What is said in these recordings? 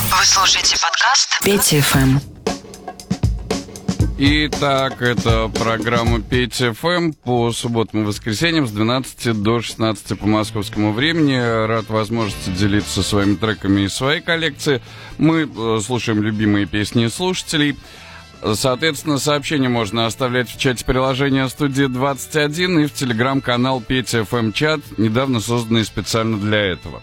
Вы слушаете подкаст Петя ФМ. Итак, это программа Петя ФМ по субботам и воскресеньям с 12 до 16 по московскому времени. Рад возможности делиться своими треками из своей коллекции. Мы слушаем любимые песни слушателей. Соответственно, сообщения можно оставлять в чате приложения «Студия 21» и в телеграм-канал Петя ФМ чат, недавно созданный специально для этого.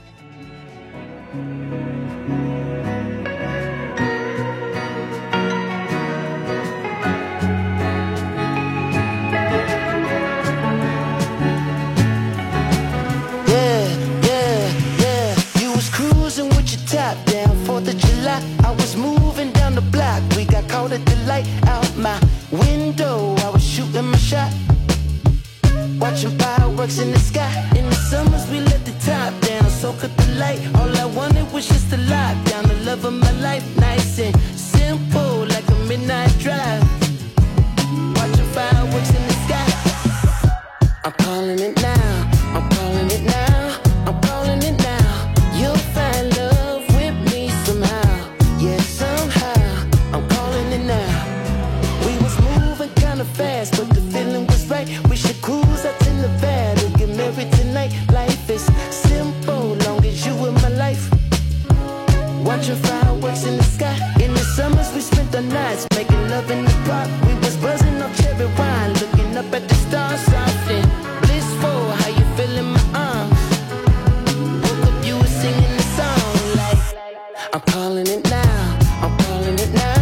At the light out my window, I was shooting my shot, watching fireworks in the sky. In the summers we let the top down, so cut the light. All I wanted was just to lock down the love of my life, nice and simple, like a midnight drive. Watching fireworks in the sky. I'm calling it now, I'm calling it now, I'm calling it now. You'll find love with me somehow, yeah, somehow. I'm calling it now. We was moving kinda fast, but the feeling was right. We should cruise out to Nevada, get married tonight. Life is simple, long as you in my life. Watching fireworks in the sky. In the summers we spent the nights making love in the park. We was buzzing off cherry wine, looking up at the stars, soft and blissful. How you feel in my arms? Woke up, you were singing the song like I'm calling it now, I'm calling it now.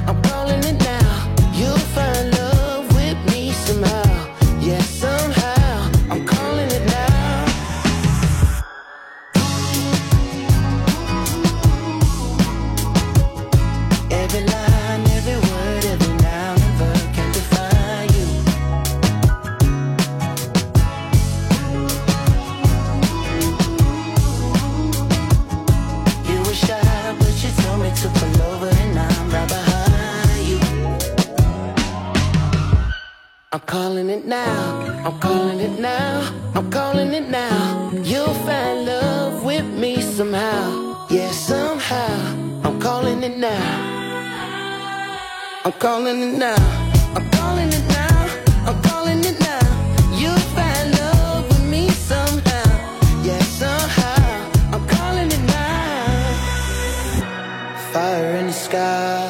I'm calling it now, I'm calling it now, I'm calling it now. You'll find love with me somehow, yeah, somehow. I'm calling it now, I'm calling it now, I'm calling it now, I'm calling it now. You'll find love with me somehow, yeah, somehow. I'm calling it now. Fire in the sky.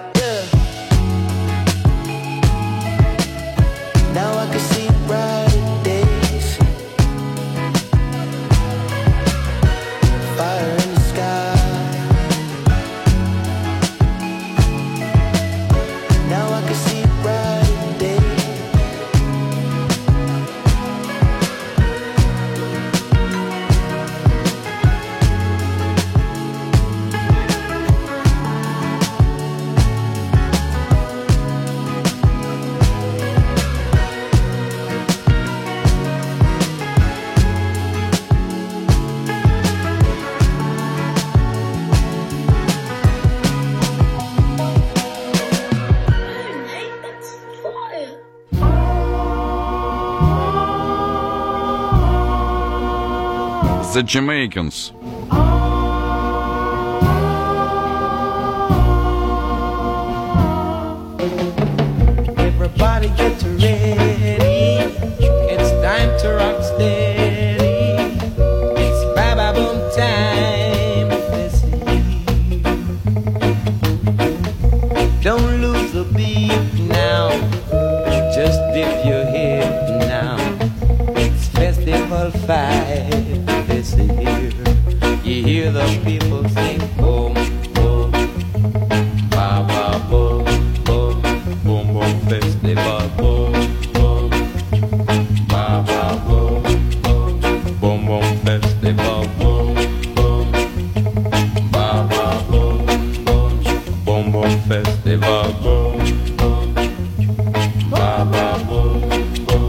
Now I can see brighter days. Fire in the sky. Now I can see brighter days. The Jamaicans. Everybody get ready. It's time to rock steady. It's Baba Boom time. Don't lose the beat now. Just dip your head now. It's Festival 5. You hear the people sing boom, boom, ba ba boom, boom, boom, boom, festival boom, boom, ba ba boom, boom, boom, boom, festival boom, boom, ba ba boom, boom, boom, boom, festival boom, boom, ba ba boom, boom.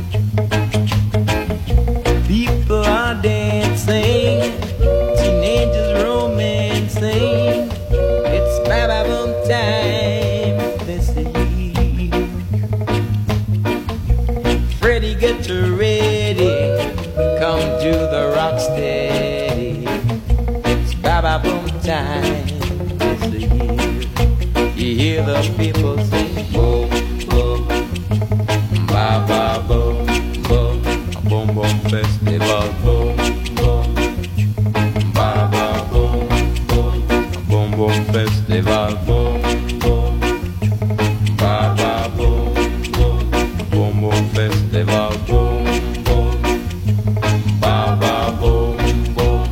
People are dancing. Teenagers romancing. It's Baba Boom time. This is Freddie, get ready. Come to the rock steady. It's Baba Boom time. time. It's the year. You hear the people sing, boom, boom, ba ba boom, boom, a boom boom festival, boom, boom, ba ba boom, boom, a boom boom festival, boom, boom, ba ba boom, boom, a boom boom festival, boom, boom, ba ba boom, boom.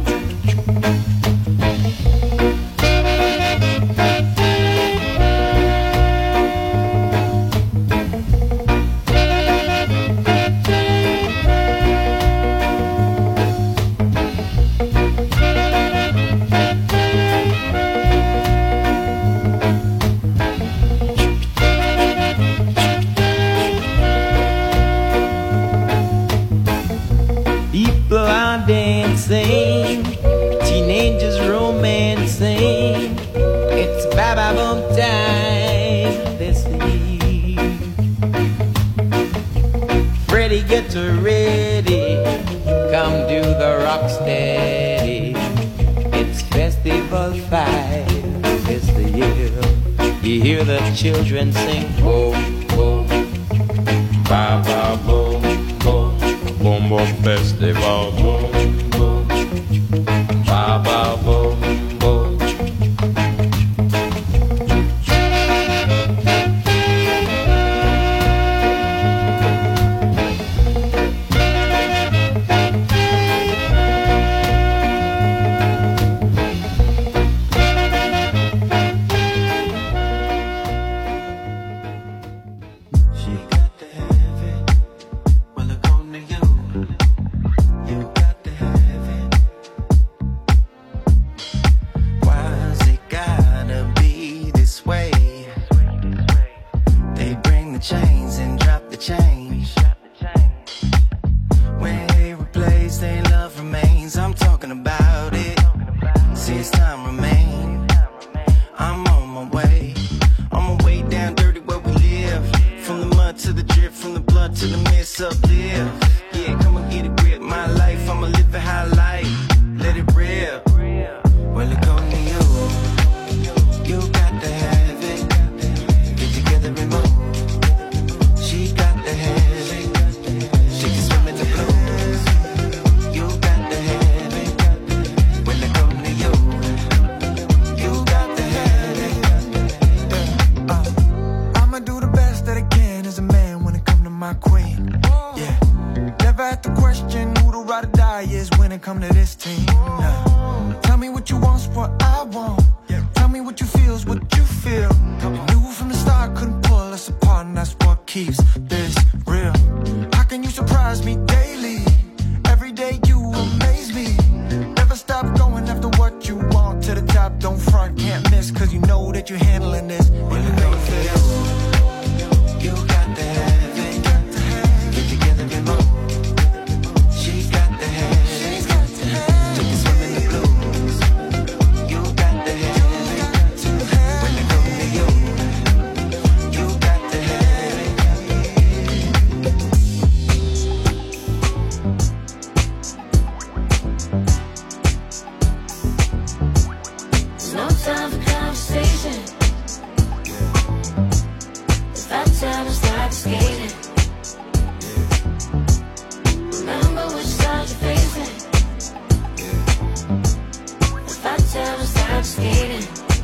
People are dancing, teenagers romancing. It's ba-ba boom time this eve. Freddie, get ready, come do the rock steady. It's Festival 5 this the year. You hear the children sing, boom, boom, ba-ba boom, boom. Boom boom festival, boom boom, ba ba boom boom. She got to have it. Well, according to you got to have it. Why's it gotta be this way? They bring the chains and drop the change. When they replace, they love remains. I'm talking about it. Since time remain, I'm on my way. On my way down dirty where we live. From the mud to the drip, from the blood to the mist uplift. Yeah, come and get a grip. My life, I'ma live a high life. Let it rip. Well, according to you got to have it. Get together and move. She got to have it. She can swim in the blues. You got to have it. Well, according to you got to have it. I'ma do the best that I can as a man when it come to my queen. Yeah, never had to question who the ride or die is when it come to this team. Nah. Tell me what you want's what I want. Tell me what you feel's what you feel. You knew from the start couldn't pull us apart, and that's what keeps this real. How can you surprise me daily? Every day you amaze me. Never stop going after what you want. To the top, don't front, can't miss, cause you know that you're handling this. And you know this. You got to have it. Get together and move. She got to have it. She can swim in the blues. You got to have it. When they come to you got to have it. No time for conversation. If I tell her stop skating, remember which side you're facing. If I tell her stop skating,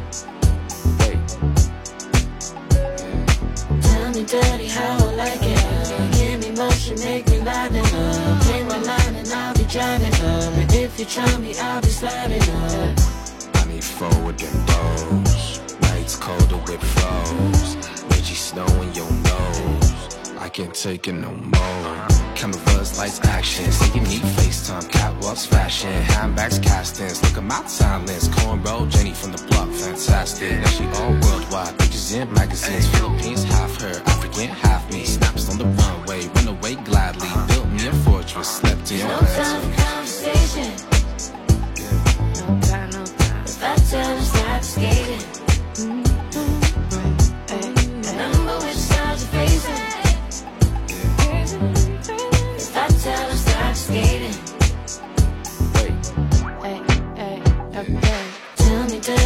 tell me daddy how I like it. Give me motion, make me lighten up. Play my line and I'll be driving up. And if you try me, I'll be sliding up. I need forward and blows. Nights colder with flows. Reggie snow in your nose. I can't take it no more. Cameras, lights, action. Say you need FaceTime, catwalks, fashion. Handbags, castings. Look at my talents. Cornrow, Jenny from the block, fantastic. Now she all worldwide. Pictures in magazines. Philippines, half her. African, half me. Snaps on the runway. Run away gladly. Built me a fortress. Slept in your No time bed. for conversation. No time, no time. If I tell her stop skating, remember which side you're facing. If I tell her stop skating, tell me daddy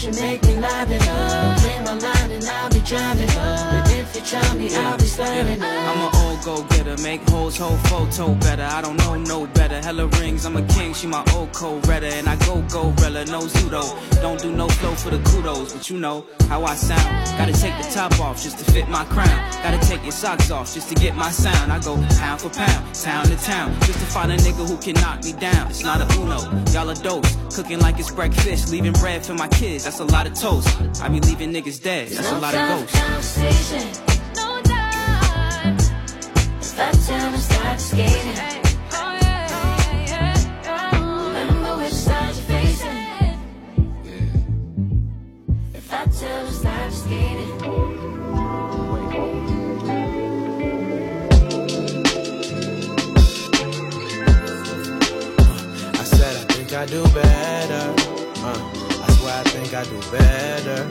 motion, make me liven up. Clear my mind and I'll be driving up. And if you try me, I'll be sliding up. I'm an old go-getter, make hoes whole photo better. I don't know no better. Hella rings, I'm a king, she my old co-redder. And I go Rella, no pseudo. Don't do no flow for the kudos, but you know how I sound. Gotta take the top off just to fit my crown. Gotta take your socks off just to get my sound. I go pound for pound, town to town, just to find a nigga who can knock me down. It's not a uno, y'all a dose. Cooking like it's breakfast, leaving bread for my kids. That's a lot of toast. I be leaving niggas dead. That's a lot of ghosts. Conversation, no time. If I tell them start skating, remember which side you're facing. If I tell them start skating. I do better. I swear I think I do better.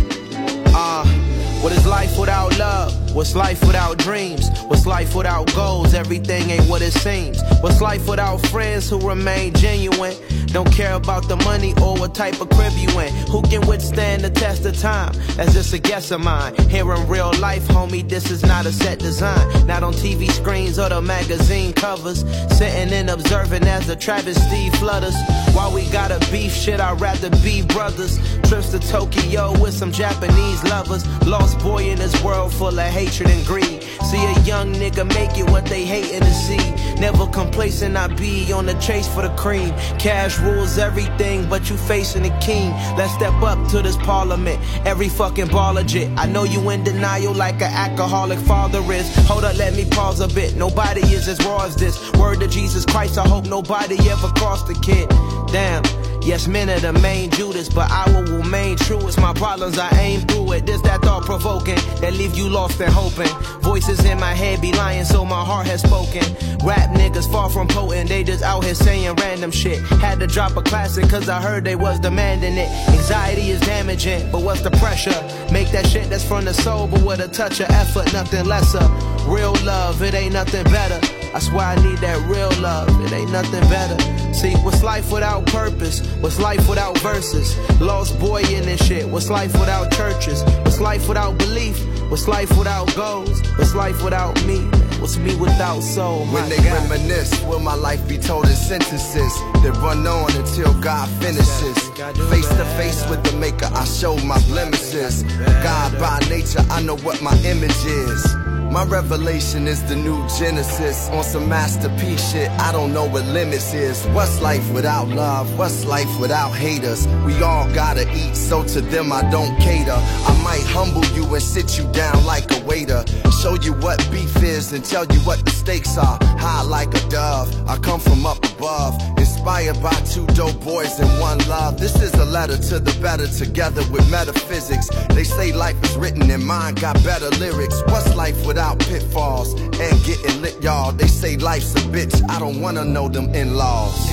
What is life without love? What's life without dreams? What's life without goals? Everything ain't what it seems. What's life without friends who remain genuine? Don't care about the money or what type of crib you in. Who can withstand the test of time? That's just a guess of mine. Here in real life, homie, this is not a set design. Not on TV screens or the magazine covers. Sitting and observing as the travesty flutters. While we gotta beef shit, I'd rather be brothers. Trips to Tokyo with some Japanese lovers. Lost boy in this world full of hatred and greed. See a young nigga make it what they hating to see. Never complacent, I be on the chase for the cream. Cash rules everything, but you facing the king. Let's step up to this parliament. Every fucking ball legit. I know you in denial like an alcoholic father is. Hold up, let me pause a bit. Nobody is as raw as this. Word to Jesus Christ, I hope nobody ever crossed the kid. Damn. Yes, men are the main Judas, but I will remain true. It's my problems, I aim through it. This that thought-provoking that leave you lost and hoping. Voices in my head be lying, so my heart has spoken. Rap niggas far from potent, they just out here saying random shit. Had to drop a classic cause I heard they was demanding it. Anxiety is damaging, but what's the pressure? Make that shit that's from the soul, but with a touch of effort, nothing lesser. Real love, it ain't nothing better. That's why I need that real love, it ain't nothing better. See, what's life without purpose? What's life without verses? Lost boy in this shit. What's life without churches? What's life without belief? What's life without goals? What's life without me? What's me without soul? When they reminisce, will my life be told in sentences that run on until God finishes? Face to face with the maker, I show my blemishes. God by nature, I know what my image is. My revelation is the new Genesis. On some masterpiece shit, I don't know what limits is. What's life without love? What's life without haters? We all gotta eat, so to them I don't cater. I might humble you and sit you down like a waiter. Show you what beef is and tell you what the stakes are. High like a dove, I come from up above. Inspired by two dope boys and one love. This is a letter to the better, together with metaphysics. They say life is written and mine got better lyrics. What's life without pitfalls and getting lit, y'all? They say life's a bitch, I don't wanna know them in-laws.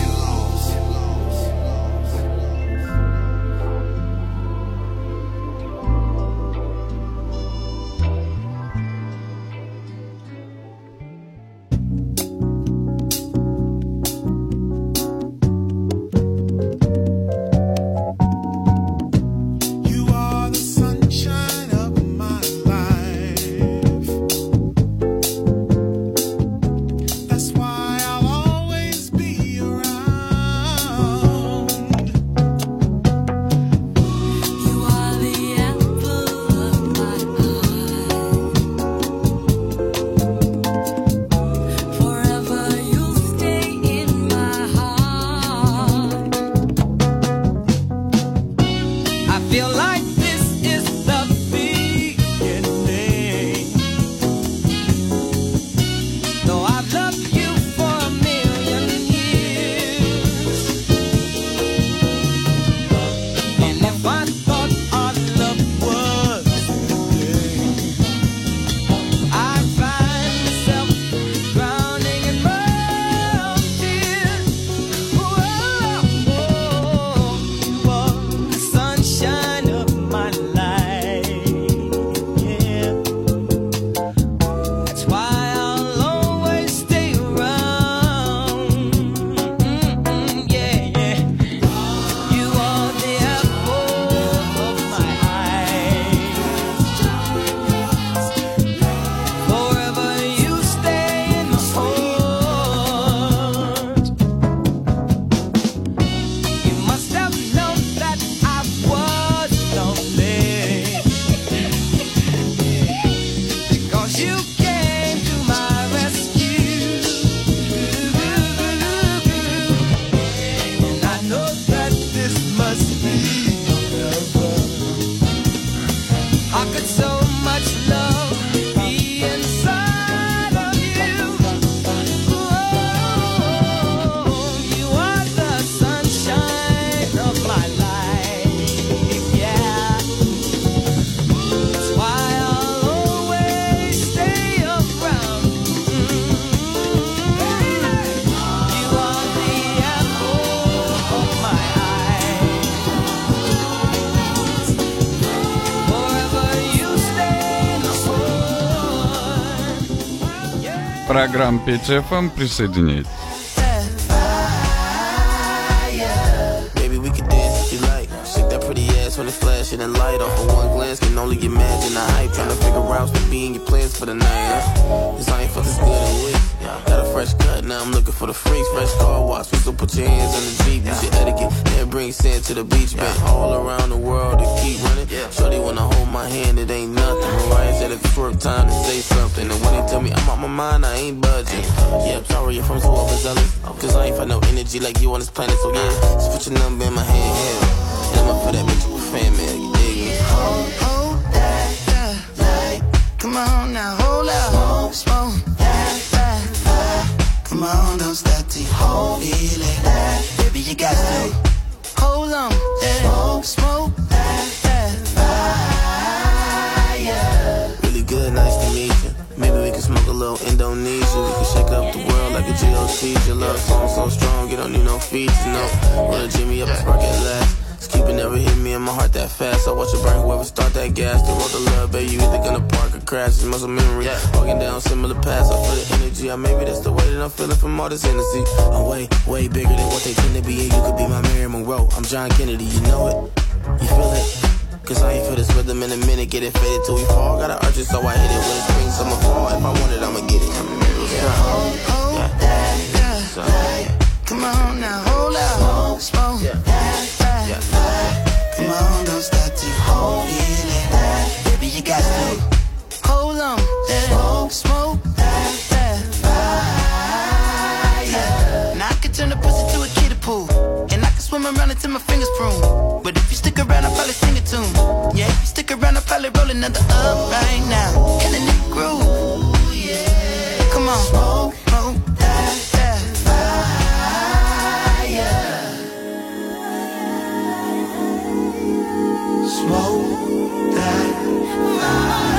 That's why I'll always be around. программа Петя ФМ. Присоединяйтесь. When it's flashing and light off of one glance, can only imagine the hype. Trying to figure out what being your plans for the night. Cause I ain't felt this good in weeks. Got a fresh cut, now I'm looking for the freaks. Fresh car wash, so put your hands on the Jeep. Use your etiquette and bring sand to the beach. Been all around the world to keep running. Shorty wanna hold my hand, it ain't nothing. Mariah said it's work time to say something. And when they tell me I'm out my mind, I ain't budging. Yeah, I'm sorry if I'm so overzealous. Cause I ain't find no energy like you on this planet. So yeah, just put your number in my hand. And I'm up for that mutual fan mail, you dig me? Hold that, like, come on now, hold up, smoke that, come on, don't stop till you feel it, baby, you got to hold on, smoke that fire. Really good, nice to meet you. Maybe we can smoke a little Indonesia. We can shake up the world like a GOC. Your love song so strong, you don't need no features, no. Roll a Jimmy up and spark it last. Cupid never hit me in my heart that fast. I watch it burn whoever start that gas. The road to love, baby, you either gonna park or crash. It's muscle memory, walking down similar paths. I feel the energy, maybe that's the way that I'm feeling from all this energy. I'm way, way bigger than what they tend to be. And you could be my Mary Monroe, I'm John Kennedy, you know it? You feel it? Cause I ain't feel this rhythm in a minute. Get it faded till we fall. Gotta urge it so I hit it. When it's spring, summer, fall. If I want it, I'ma get it. Hold that, come on now, hold up, smoke that. Come on, don't stop till you feel it, baby, you got to hold on, smoke that fire. Now I can turn the pussy to a kiddie pool, and I can swim around until my fingers prune. But if you stick around, I'll probably sing it tune. Yeah, if you stick around, I'll probably roll another up right now. And in the groove, yeah. Come on, smoke that fire. Smoke that fire.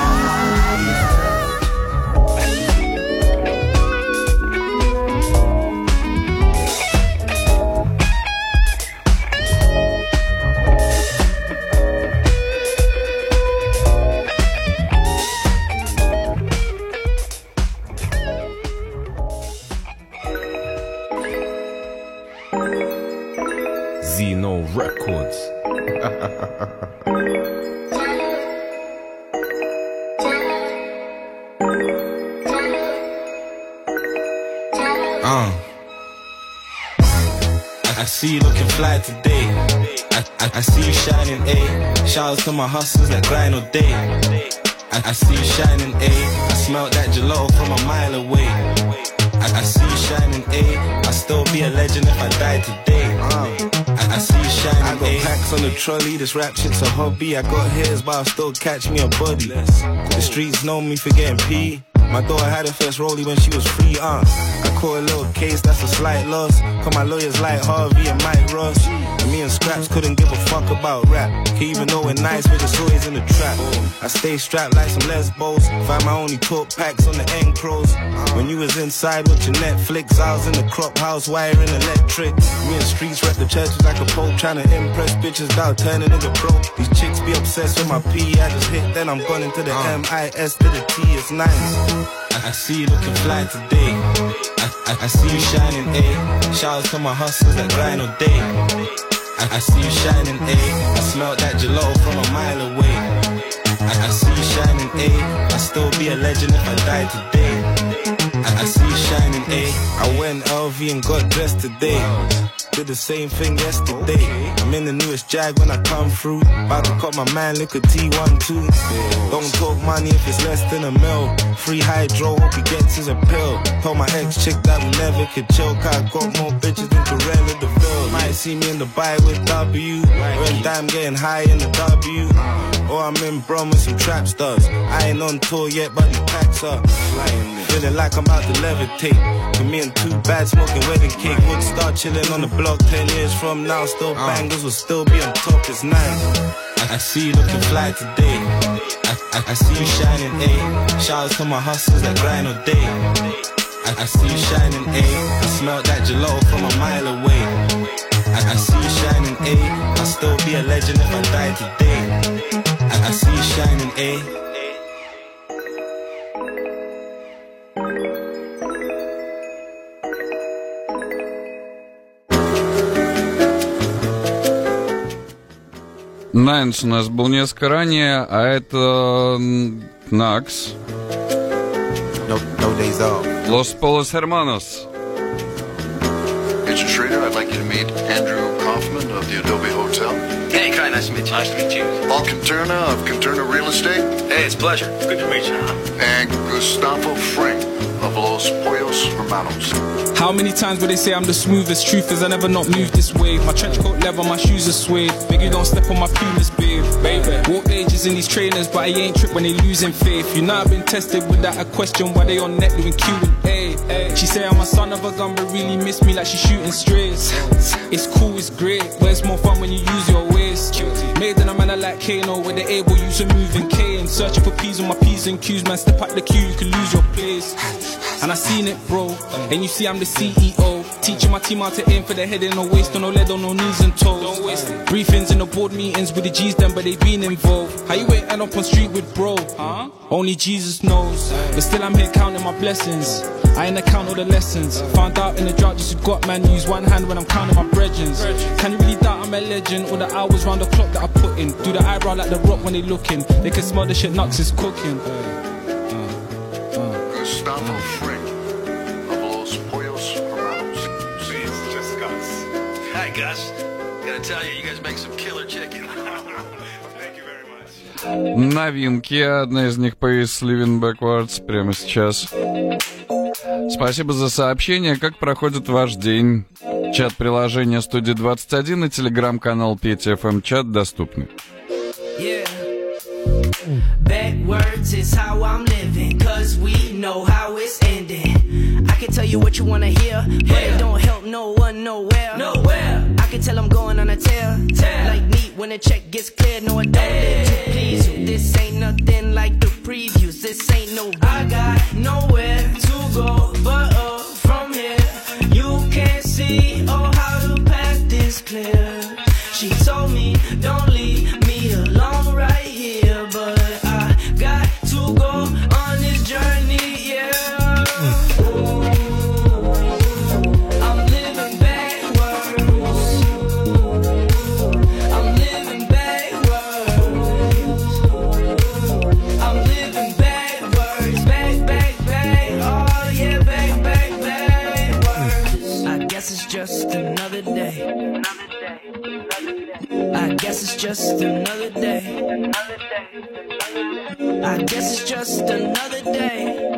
Zeno Records. I see you looking fly today. I see you shining, A. Shout out to my hustlers that grind all day. I see you shining, A. I smell that gelato from a mile away. I see you shining, A. I'll still be a legend if I die today. I see you shining, I got packs on the trolley, this rap shit's a hobby. I got hairs, but I'll still catch me a body. The streets know me for getting P. My daughter had her first rollie when she was free, I caught a little case, that's a slight loss. Cause my lawyers like Harvey and Mike Ross. And me and Scraps couldn't give a fuck about rap. Cause even though we're nice, we're just always in the trap. I stay strapped like some lesbos. Find my only talk packs on the end crows. When you was inside with your Netflix, I was in the crop house wiring electric. Me and Streets rep the churches like a pope, trying to impress bitches without turning into broke. These chicks be obsessed with my P, I just hit, then I'm gone into the M-I-S to the T, it's nice. I see you looking fly today. I see you shining, A. Shout out to my hustlers that grind all day. I see you shining, A. I smell that gelato from a mile away. I see you shining, A. I'll still be a legend if I die today. I see you shining, A. I went LV and got dressed today. Did the same thing yesterday. I'm in the newest Jag when I come through. About to cut my man, look at T12. Don't talk money if it's less than a mil. Free hydro, hope he gets his appeal. Told my ex-chick that we never could chill. Cause I got more bitches than Corella DeVille. Might see me in the bay with W. When damn getting high in the W. Or I'm in Brum with some trap stars. I ain't on tour yet, but these packs up. Feeling like I'm about to levitate. For me and too bad smoking wedding cake. Would start chilling on the block 10 years from now. Still bangers will still be on top, it's nice. I see you looking fly today. I see you shining, A. Shout out to my hustlers that grind all day. I see you shining, A. I smell that gelato from a mile away. I see you shining, A. I'll still be a legend if I die today. I see you shining, A. Найнс у нас был несколько ранее, а это Накс. No days off. Los Polos Hermanos. Mr. Schrader, I'd like you to meet Andrew Kaufman of the Adobe Hotel. Hey, Kai, nice to meet you. Nice to meet you. Paul Conterna of Conterna Real Estate. Hey, it's a pleasure. Good to meet you. And Gustavo Frank of Los Pollos Hermanos. How many times will they say I'm the smoothest? Truth is I never not moved this way. My trench coat leather, my shoes are suede. Biggie don't step on my Pumas, babe. Baby, walk ages in these trainers, but I ain't tripped when they losing faith. You know I've been tested without a question why they on net doing Q&A. She say I'm a son of a gun, but really miss me like she shooting strays. It's cool, it's great, but it's more fun when you use your waist. Made in a manner like Kano, where they able use a moving K and searching for P's on my P's and Q's. Man, step out the queue, you can lose your place. And I seen it, bro. And you see I'm the CEO, teaching my team how to aim for the head and no waist, on no lead, on no knees and toes. Don't waste it. Briefings in the board meetings with the G's them, but they been involved. How you ain't end up on street with bro? Huh? Only Jesus knows. But still I'm here counting my blessings. I ain't account all the lessons. Found out in the drought just who got man. Use one hand when I'm counting my brethrens. Can you really doubt I'm a legend? All the hours round the clock that I put in. Do the eyebrow like the Rock when they looking. They can smell the shit Nux is cooking. Gustavo Frank of Los Pollos Hermanos. See, it's just Gus. Hi, Gus. Gotta tell you, you guys make some killer chicken. Thank you very much. Новинки. Одна из них появится Living Backwards прямо сейчас. Спасибо за сообщение. Как проходит ваш день? Чат приложения Студии 21 и телеграм-канал Петя ФМ Чат доступны. Yeah. Backwards is how I'm living, cause we know how it's ending. I can tell you what you wanna hear, but it don't help no one nowhere. I can tell I'm going on a tear. Like neat when the check gets cleared. No, it don't live to please you. This ain't nothing like the previews. This ain't no I got nowhere to go but up from here. You can't see how the path is clear. She told me don't leave me alone right here, but I got to go on this journey, yeah. I'm living backwards. I'm living backwards. I'm living backwards. Back, oh yeah, backwards. I guess it's just another day. I guess it's just another day. I guess it's just another day.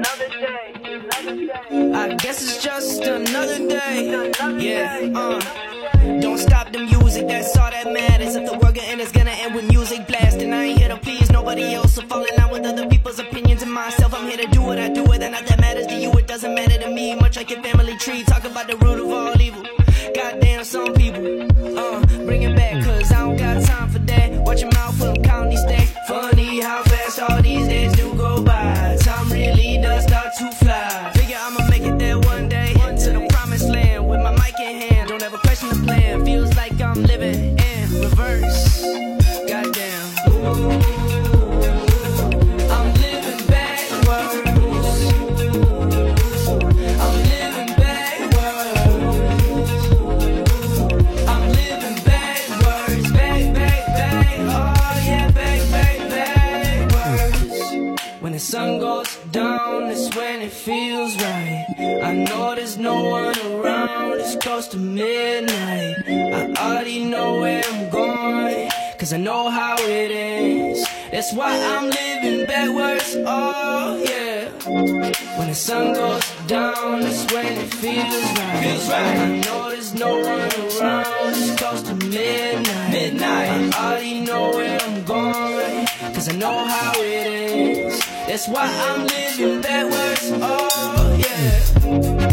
I guess it's just another day. Yeah, Don't stop the music, that's all that matters. If the world gonna end, it's gonna end with music blasting. I ain't here to please nobody else, so falling out with other people's opinions and myself. I'm here to do what I do, whether or not that matters to you. It doesn't matter to me, much like your family tree. Talk about the root of all evil. Goddamn, some people, bring it back, cause I don't got time for that. Watch your mouth when I'm counting these stacks. Funny how fast all these days do go by. Time really does start to fly. Figure I'ma make it there one day, to the promised land, with my mic in hand. Don't ever question the plan, feels like I'm living in reverse. Goddamn. I'm living backwards. I'm living backwards. I'm living backwards. Back, oh yeah, backwards. When the sun goes down, it's when it feels right. I know there's no one around, it's close to midnight. I already know where I'm going, cause I know how it ends. That's why I'm living backwards, oh yeah. When the sun goes down, it's when it feels right. I know there's no one around, it's close to midnight. I already know where I'm going, cause I know how it ends. That's why I'm living backwards, oh yeah.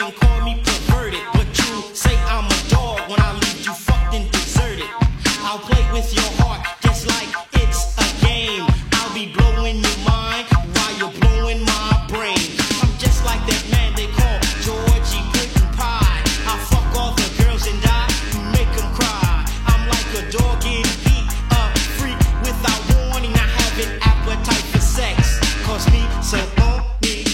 can call me perverted, but you say I'm a dog when I leave you fucked and deserted. I'll play with your heart just like it's a game. I'll be blowing your mind while you're blowing my brain. I'm just like that man they call Georgie Puddin' Pie. I fuck all the girls and I make them cry. I'm like a dog getting beat, a freak without warning. I have an appetite for sex, cause me so on me.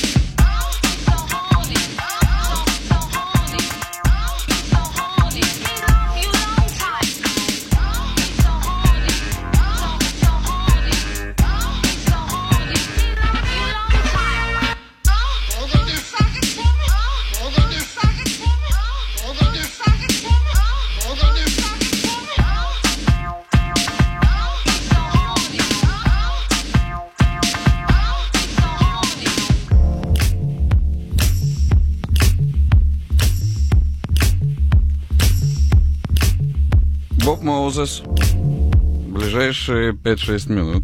Боб Моузес. Ближайшие 5-6 минут.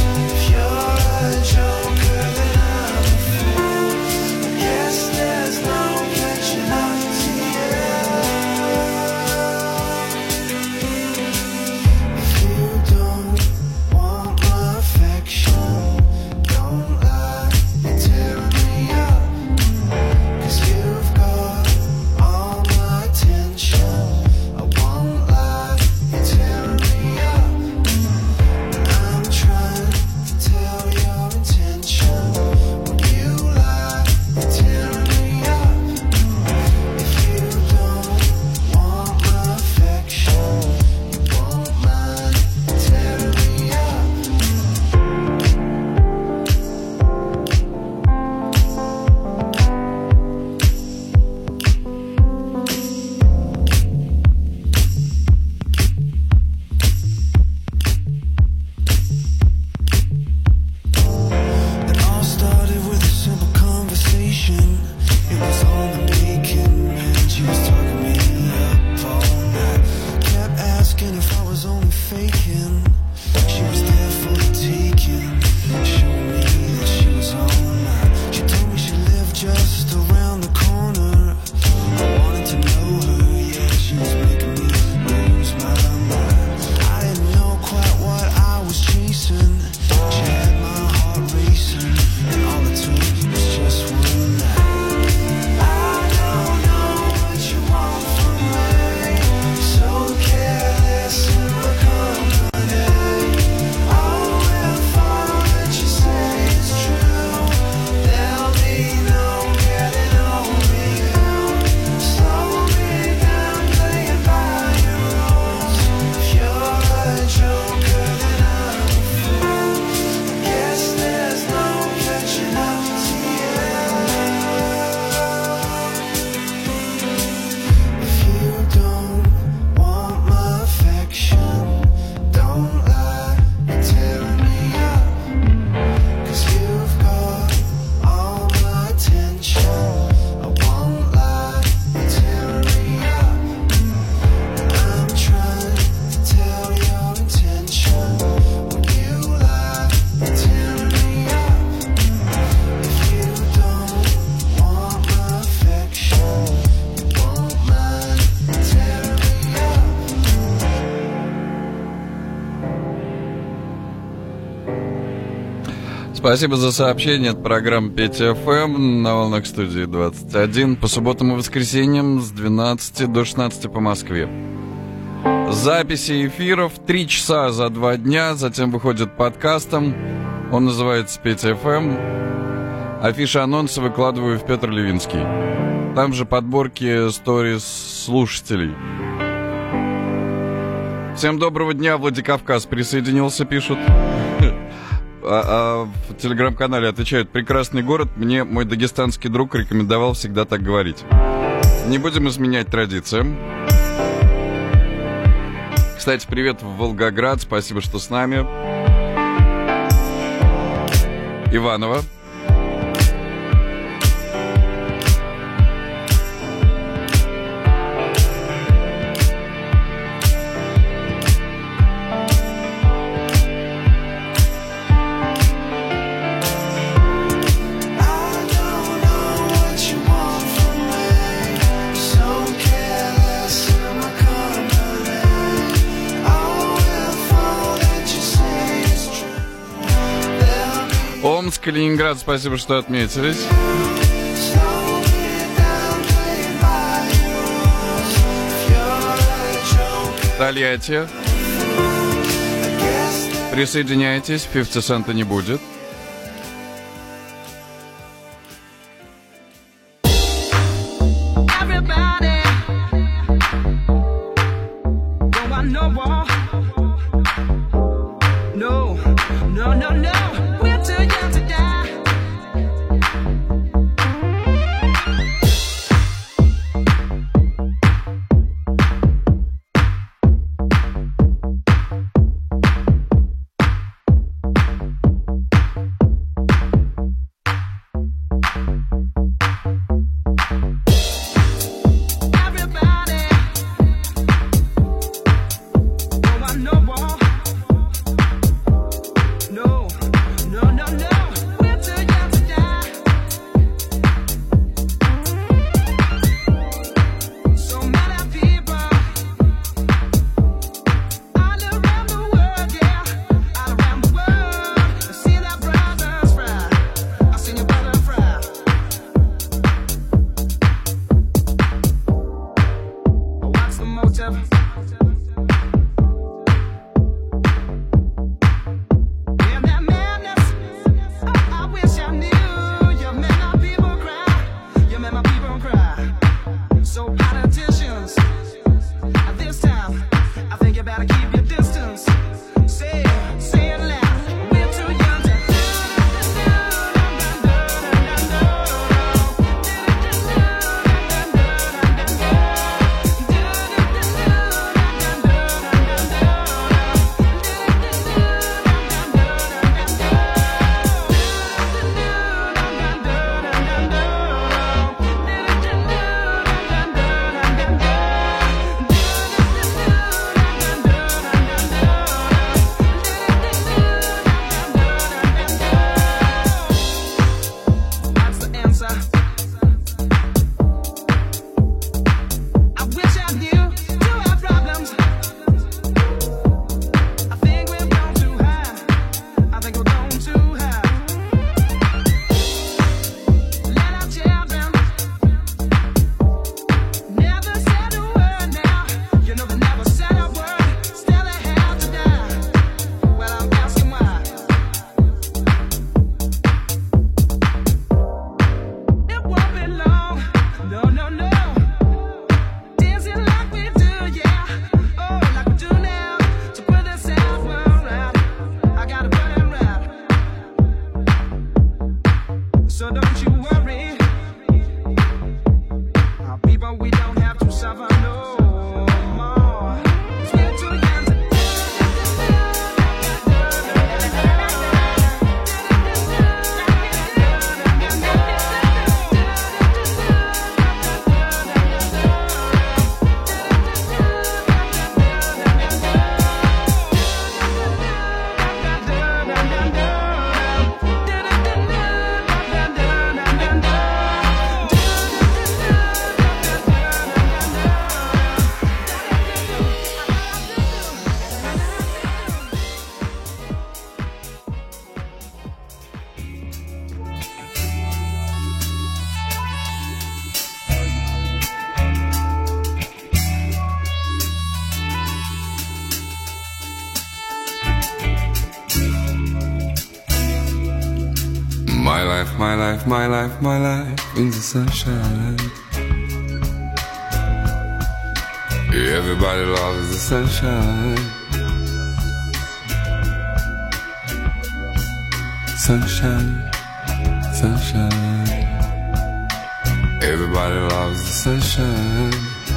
There's Спасибо за сообщение. Это программа Петя ФМ на волнах студии 21. По субботам и воскресеньям с 12 до 16 по Москве. Записи эфиров 3 часа за 2 дня. Затем выходит подкастом. Он называется Петя ФМ. Афиши, анонсы выкладываю в Петр Левинский. Там же подборки сторис слушателей. Всем доброго дня. Владикавказ присоединился, пишут. В телеграм-канале отвечают: прекрасный город, мне мой дагестанский друг рекомендовал всегда так говорить. Не будем изменять традициям. Кстати, привет в Волгоград, спасибо, что с нами. Иваново. Омск, Калининград, спасибо, что отметились. Тольятти. Присоединяйтесь, 50 цента не будет. My life, my life, my life, my life in the sunshine. Everybody loves the sunshine. Sunshine, sunshine. Everybody loves the sunshine.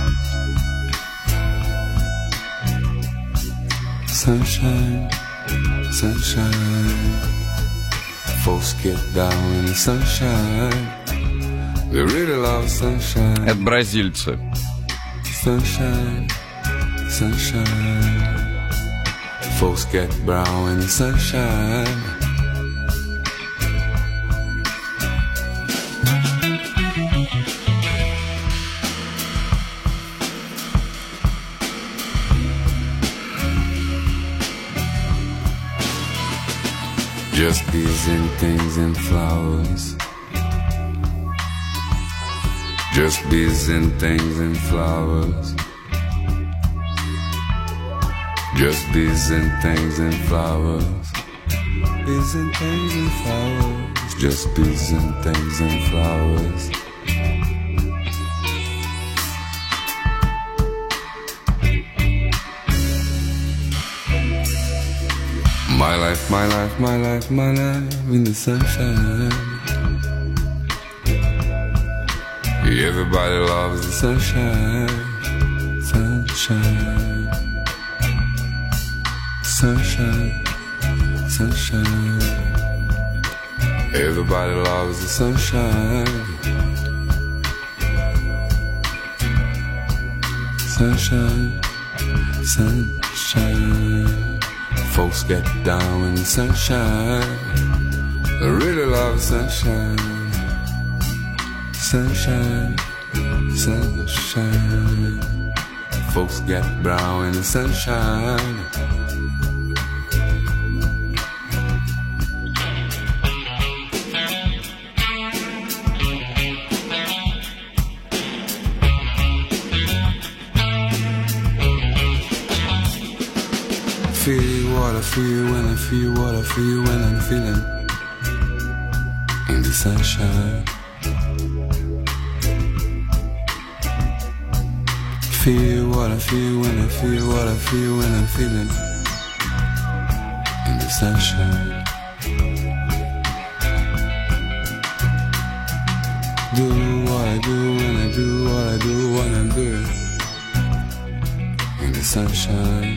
Sunshine, sunshine. Folks get down in the sunshine. They really love sunshine. Это бразильцы. Sunshine, sunshine. Folks get brown in the sunshine. Just bees and things and flowers. Just bees and things and flowers. Just bees and things and flowers. Bees and things and flowers. Just bees and things and flowers. My life, my life, my life, my life in the sunshine. Everybody loves the sunshine. Sunshine. Sunshine. Sunshine. Everybody loves the sunshine. Sunshine. Sunshine. Folks get down in the sunshine. They really love sunshine. Sunshine, sunshine. Folks get brown in the sunshine. Feel what I feel when I feel what I feel when I'm feeling in the sunshine. Feel what I feel when I feel what I feel when I'm feeling in the sunshine. Do what I do when I do what I do when I'm doing in the sunshine.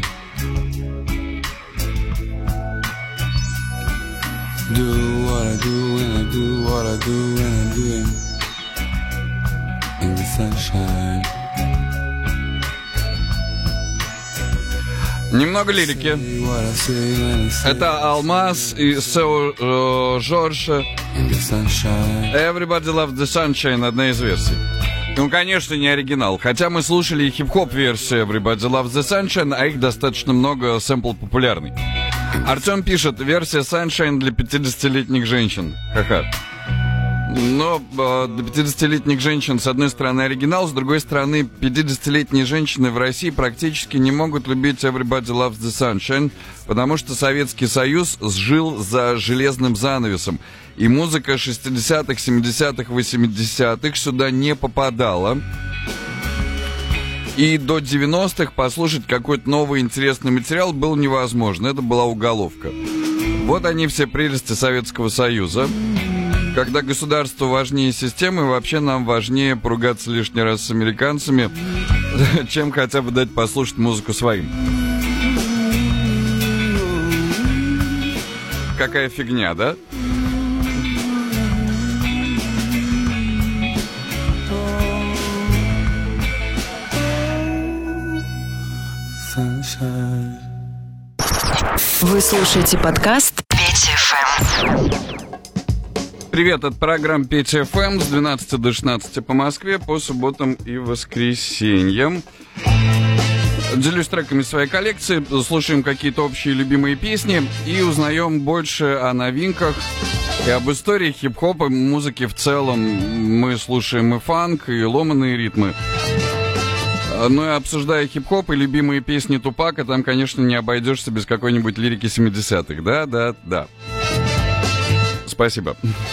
Do what I do when I do what I do when I'm doing in the sunshine. Немного лирики. Это Алмаз и Сео Жорж. Everybody Loves the Sunshine, одна из версий. Ну, конечно, не оригинал. Хотя мы слушали и хип-хоп-версию Everybody Loves the Sunshine, а их достаточно много, сэмпл популярный. Артем пишет, версия Sunshine для 50-летних женщин. Ха-ха. Но для 50-летних женщин, с одной стороны, оригинал, с другой стороны, 50-летние женщины в России практически не могут любить Everybody Loves the Sunshine, потому что Советский Союз сжил за железным занавесом, и музыка 60-х, 70-х, 80-х сюда не попадала. И до 90-х послушать какой-то новый интересный материал было невозможно, это была уголовка. Вот они все прелести Советского Союза. Когда государство важнее системы, вообще нам важнее поругаться лишний раз с американцами, чем хотя бы дать послушать музыку своим. Какая фигня, да? Вы слушаете подкаст Петя ФМ. Привет, это программа Петя ФМ с 12 до 16 по Москве по субботам и воскресеньям. Делюсь треками своей коллекции, слушаем какие-то общие любимые песни и узнаем больше о новинках и об истории хип-хопа, музыки в целом. Мы слушаем и фанк, и ломаные ритмы. Ну и обсуждая хип-хоп и любимые песни Тупака, там, конечно, не обойдешься без какой-нибудь лирики 70-х. Да. Спасибо.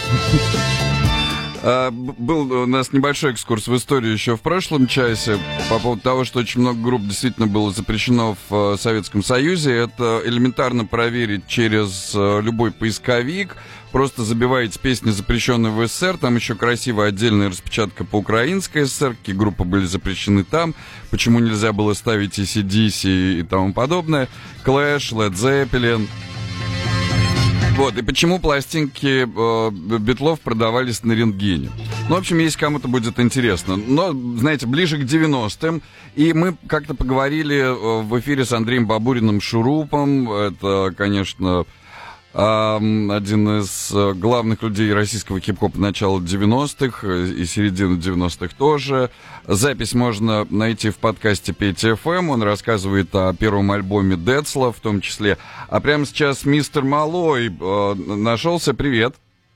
Был у нас небольшой экскурс в историю еще в прошлом часе по поводу того, что очень много групп действительно было запрещено в Советском Союзе. Это элементарно проверить через любой поисковик. Просто забиваете песни, запрещенные в СССР. Там еще красивая отдельная распечатка по украинской СССР. Какие группы были запрещены там. Почему нельзя было ставить AC/DC и тому подобное. Clash, Led Zeppelin. Вот, и почему пластинки Битлов продавались на рентгене. Ну, в общем, если кому-то будет интересно. Но, знаете, ближе к 90-м. И мы как-то поговорили в эфире с Андреем Бабуриным Шурупом. Это, конечно, один из главных людей российского хип-хопа начала 90-х и середины 90-х тоже. Запись можно найти в подкасте Петя FM. Он рассказывает о первом альбоме Децла в том числе. А прямо сейчас мистер Малой нашелся. Привет.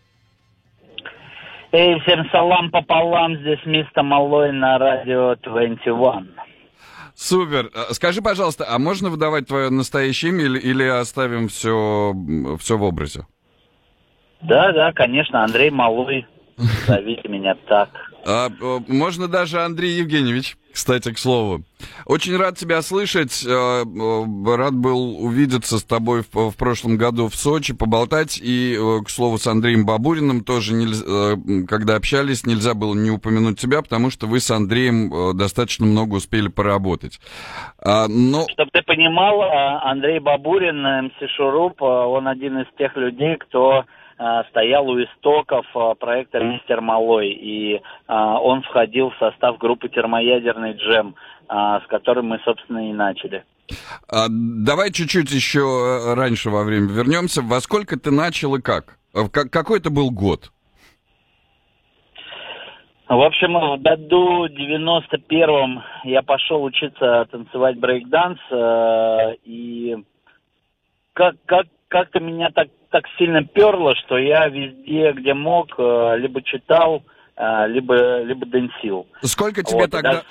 Эй, всем салам пополам. Здесь мистер Малой на радио 21. Супер. Скажи, пожалуйста, а можно выдавать твое настоящее имя или оставим все в образе? Да, конечно, Андрей Малой. Зовите меня так. Можно даже Андрей Евгеньевич, кстати, к слову. Очень рад тебя слышать. Рад был увидеться с тобой в прошлом году в Сочи, поболтать. И, к слову, с Андреем Бабуриным тоже, когда общались, нельзя было не упомянуть тебя, потому что вы с Андреем достаточно много успели поработать. Чтобы ты понимал, Андрей Бабурин, МС Шуруп, он один из тех людей, кто стоял у истоков проекта «Мистер Малой», и он входил в состав группы «Термоядерный джем», с которой мы, собственно, и начали. Давай чуть-чуть еще раньше во время вернемся. Во сколько ты начал и как? Какой это был год? В общем, в году 91-м я пошел учиться танцевать брейк-данс, и как-то меня так сильно перло, что я везде, где мог, либо читал, либо дэнсил. Сколько тебе вот, тогда?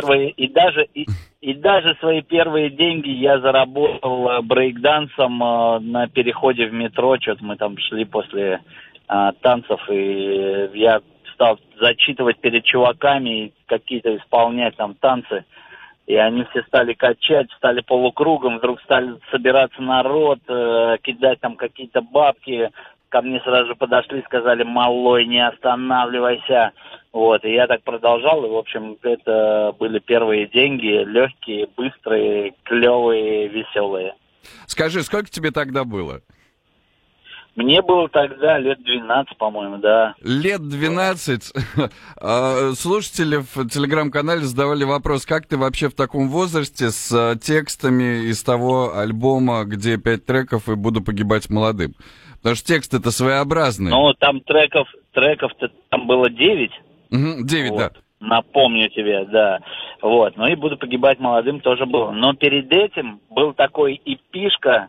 И даже свои первые деньги я заработал брейк-дансом на переходе в метро. Что-то мы там шли после танцев, и я стал зачитывать перед чуваками и какие-то исполнять там танцы. И они все стали качать, стали полукругом, вдруг стали собираться народ, кидать там какие-то бабки. Ко мне сразу же подошли, сказали: «Малой, не останавливайся». Вот, и я так продолжал, и, в общем, это были первые деньги, легкие, быстрые, клевые, веселые. Скажи, сколько тебе тогда было? Мне было тогда лет 12, по-моему, да. Лет 12? Слушатели в телеграм-канале задавали вопрос, как ты вообще в таком возрасте с текстами из того альбома, где 5 треков и «Буду погибать молодым». Потому что тексты-то своеобразные. Ну, там треков-то там было 9. 9, вот. Да. Напомню тебе, да. Вот, ну и «Буду погибать молодым» тоже было. Но перед этим был такой эпишка,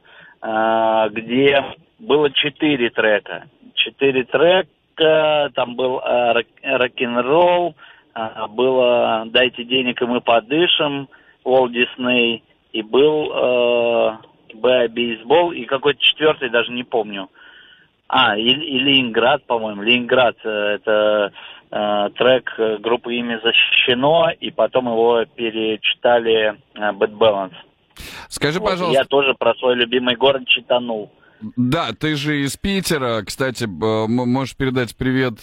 где было 4 трека. 4 трека, там был рок-н-ролл, было «Дайте денег, и мы подышим», Уолт Дисней, и был бейсбол, и какой-то 4-й, даже не помню. И Ленинград, по-моему. Ленинград — это трек группы «Имя защищено», и потом его перечитали Bad Balance. Скажи, пожалуйста... Я тоже про свой любимый город читанул. Да, ты же из Питера, кстати, можешь передать привет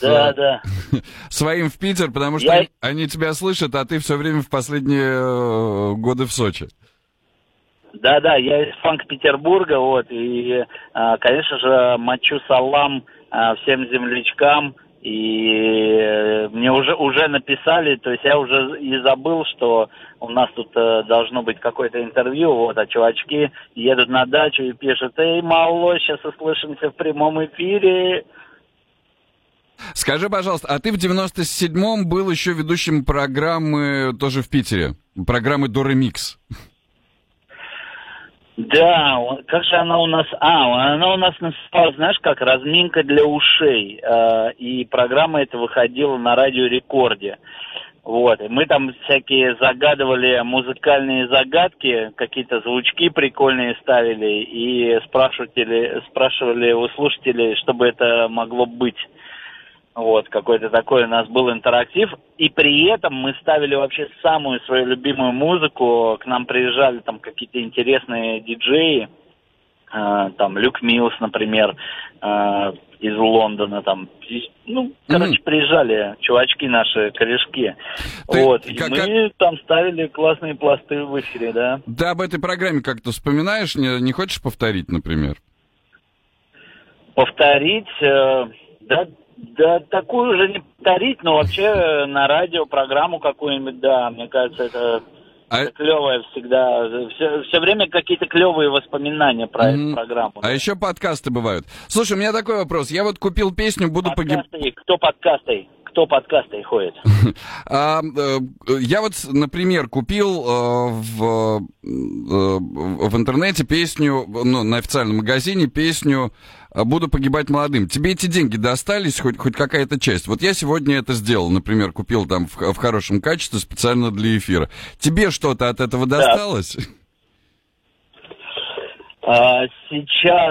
своим в Питер, потому что они тебя слышат, а ты все время в последние годы в Сочи. Да, я из Санкт-Петербурга, вот, и, конечно же, мочу салам всем землячкам, и мне уже написали, то есть я уже и забыл, что у нас тут должно быть какое-то интервью, вот, а чувачки едут на дачу и пишут: «Эй, Малой, сейчас услышимся в прямом эфире». Скажи, пожалуйста, а ты в 97-м был еще ведущим программы тоже в Питере, программы «Доремикс». Да, как же она у нас... она у нас называлась, знаешь, как «Разминка для ушей». И программа эта выходила на Радио Рекорде. Вот, и мы там всякие загадывали музыкальные загадки, какие-то звучки прикольные ставили и спрашивали у слушателей, что бы это могло быть. Вот, какой-то такой у нас был интерактив. И при этом мы ставили вообще самую свою любимую музыку. К нам приезжали там какие-то интересные диджеи. Там Люк Миллс, например, из Лондона. Там, приезжали чувачки наши, корешки. Вот, и мы там ставили классные пласты в эфире, да. Ты об этой программе как-то вспоминаешь? Не хочешь повторить, например? Повторить? Да, такую уже не повторить, но вообще на радио программу какую-нибудь, да, мне кажется, это клевое всегда. Все время какие-то клевые воспоминания про эту программу. А еще подкасты бывают. Слушай, у меня такой вопрос. Я вот купил песню «Буду погибать». Кто подкасты ходит? Я вот, например, купил в интернете песню, на официальном магазине песню «Буду погибать молодым». Тебе эти деньги достались, хоть какая-то часть? Вот я сегодня это сделал, например, купил там в хорошем качестве специально для эфира. Тебе что-то от этого досталось? Сейчас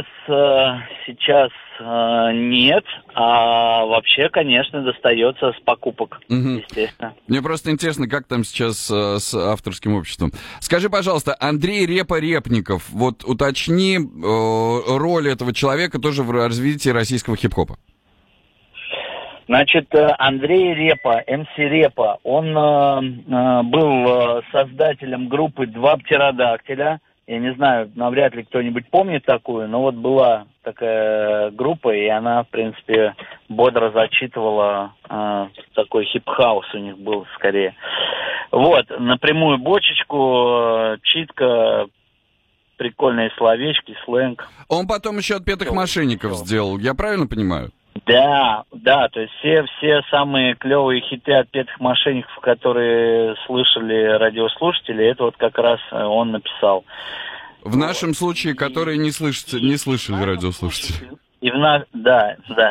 нет, а вообще, конечно, достается с покупок, естественно. Мне просто интересно, как там сейчас с авторским обществом. Скажи, пожалуйста, Андрей Репа-Репников, вот уточни роль этого человека тоже в развитии российского хип-хопа. Значит, Андрей Репа, МС Репа, он был создателем группы «Два птеродактиля». Я не знаю, навряд ли кто-нибудь помнит такую, но вот была такая группа, и она, в принципе, бодро зачитывала, такой хип-хаус у них был скорее. Вот, напрямую бочечку, читка, прикольные словечки, сленг. Он потом еще «Отпетых мошенников» сделал, я правильно понимаю? Да, то есть все самые клевые хиты «Отпетых мошенников», которые слышали радиослушатели, это вот как раз он написал. В нашем случае, которые не слышали радиослушатели. Да.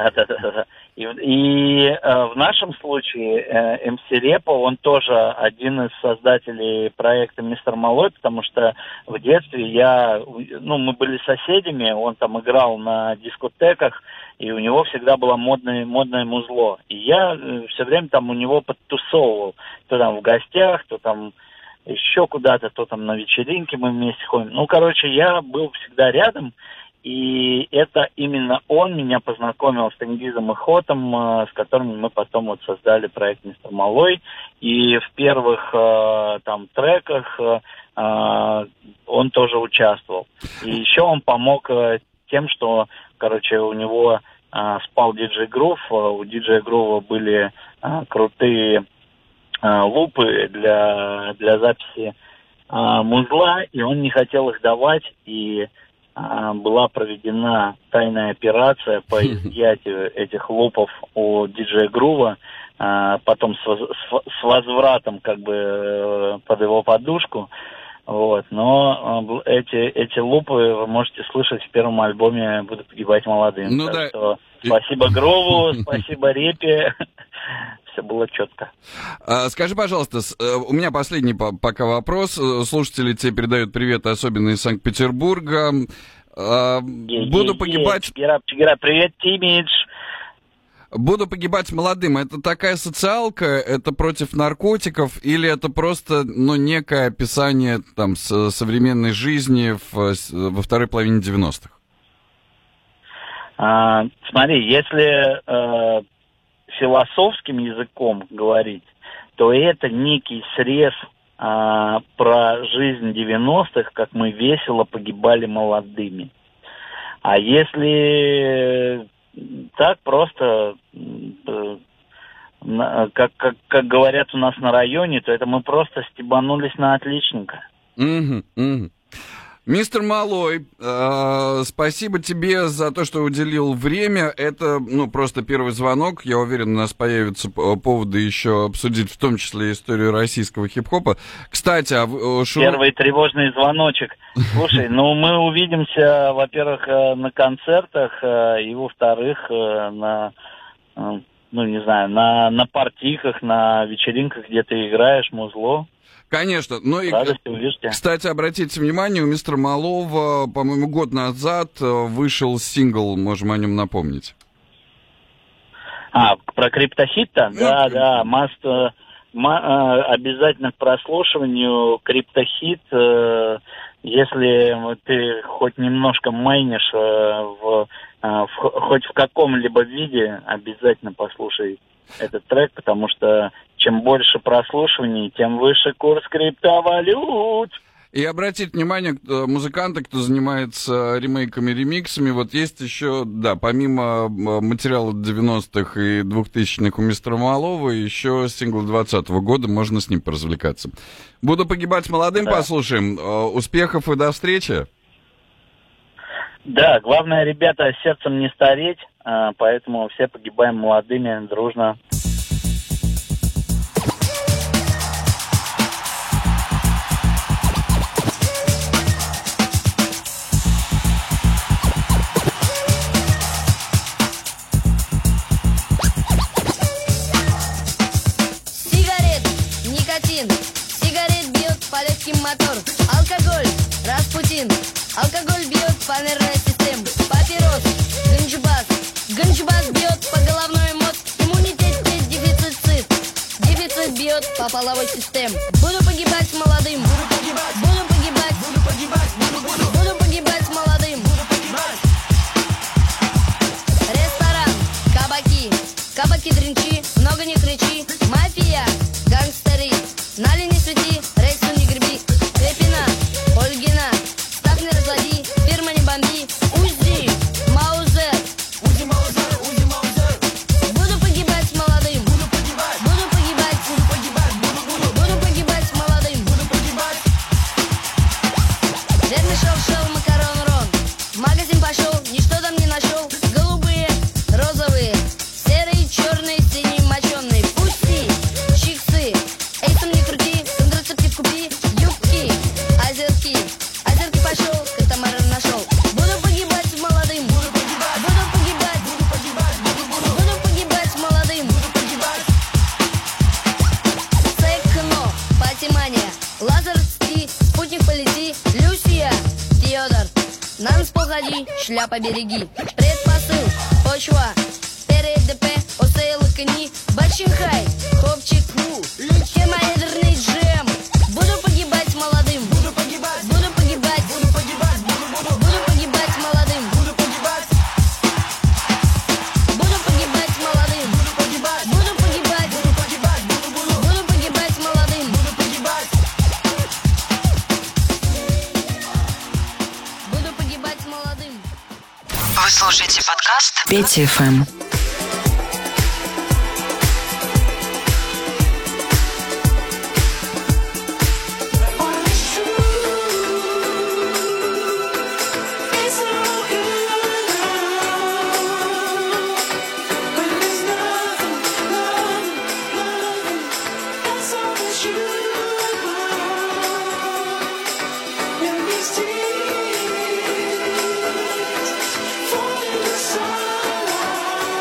И в нашем случае МС Репа, он тоже один из создателей проекта «Мистер Малой», потому что в детстве мы были соседями, он там играл на дискотеках, и у него всегда было модное музло. И я все время там у него подтусовывал. То там в гостях, то там еще куда-то, то там на вечеринке мы вместе ходим. Я был всегда рядом. И это именно он меня познакомил с Тенгизом и Хотом, с которыми мы потом вот создали проект «Мистер Малой». И в первых треках он тоже участвовал. И еще он помог тем, что, у него спал диджей Грув. У диджея Грува были крутые лупы для записи музла, и он не хотел их давать, и была проведена тайная операция по изъятию этих лупов у диджея Грува, потом с возвратом под его подушку. Вот, но эти лупы вы можете слышать в первом альбоме «Буду погибать молодым». Что спасибо Грову, спасибо Репе. Все было четко. Скажи, пожалуйста, у меня последний пока вопрос. Слушатели тебе передают привет, особенно из Санкт-Петербурга. Буду погибать... Привет, Тимидж. «Буду погибать молодым» — это такая социалка, это против наркотиков, или это просто, некое описание современной жизни во второй половине 90-х? Смотри, если философским языком говорить, то это некий срез про жизнь 90-х, как мы весело погибали молодыми. А если так просто, как говорят у нас на районе, то это мы просто стебанулись на отличника. Мистер Малой, спасибо тебе за то, что уделил время. Это, просто первый звонок. Я уверен, у нас появятся поводы еще обсудить, в том числе историю российского хип-хопа. Кстати, Первый тревожный звоночек. Слушай, мы увидимся, во-первых, на концертах, и, во-вторых, на ну, не знаю, на партийках, на вечеринках, где ты играешь музло. Конечно. Ну и, Радости, кстати, обратите внимание, у мистера Малова, по-моему, год назад вышел сингл, можем о нем напомнить. Про криптохит-то? Да, обязательно к прослушиванию криптохит, если ты хоть немножко майнишь хоть в каком-либо виде, обязательно послушай этот трек, потому что чем больше прослушиваний, тем выше курс криптовалют. И обратите внимание, музыканты, кто занимается ремейками, ремиксами, вот есть еще, да, помимо материала 90-х и 2000-х у мистера Малова, еще сингл 20-го года, можно с ним поразвлекаться. «Буду погибать молодым», послушаем. Успехов и до встречи. Да, главное, ребята, сердцем не стареть, поэтому все погибаем молодыми, дружно. Мотор, алкоголь, Распутин, алкоголь бьет по нервной системе, папирос, ганджбас бьет по головной мозг, иммунитет, дефицит бьет по половой системе. Буду погибать молодым, буду погибать молодым. Ресторан, кабаки дринчи, много не кричи, мафия, гангстеры, нали не свети, рейсу не греби. Ольгина, ставь не разлади, фирма не бомби, Узи, Маузер. Буду погибать молодым, буду погибать молодым. Верный шел, макарон, рон. В магазин пошел, ничто там не нашел. Голубые, розовые, серые, черные, синие, моченые. Пусти, чиксы, эйсом не крути, контрацептив купи. Озерки пошел, катамаран нашел. Буду погибать молодым, буду погибать молодым. Секно, патимания, Лазарский, спутник полети, Люсия, Теодор, на нас походи, шляпа береги. Предпосыл, почва, ТРДП, ОСЛ, кони, Бачинхай, Хопчик, хемоядерный джем. Буду погибать молодым, буду погибать молодым, буду погибать молодым, буду погибать молодым, буду погибать молодым. Вы слушаете подкаст Петя ФМ. Falling in the sun.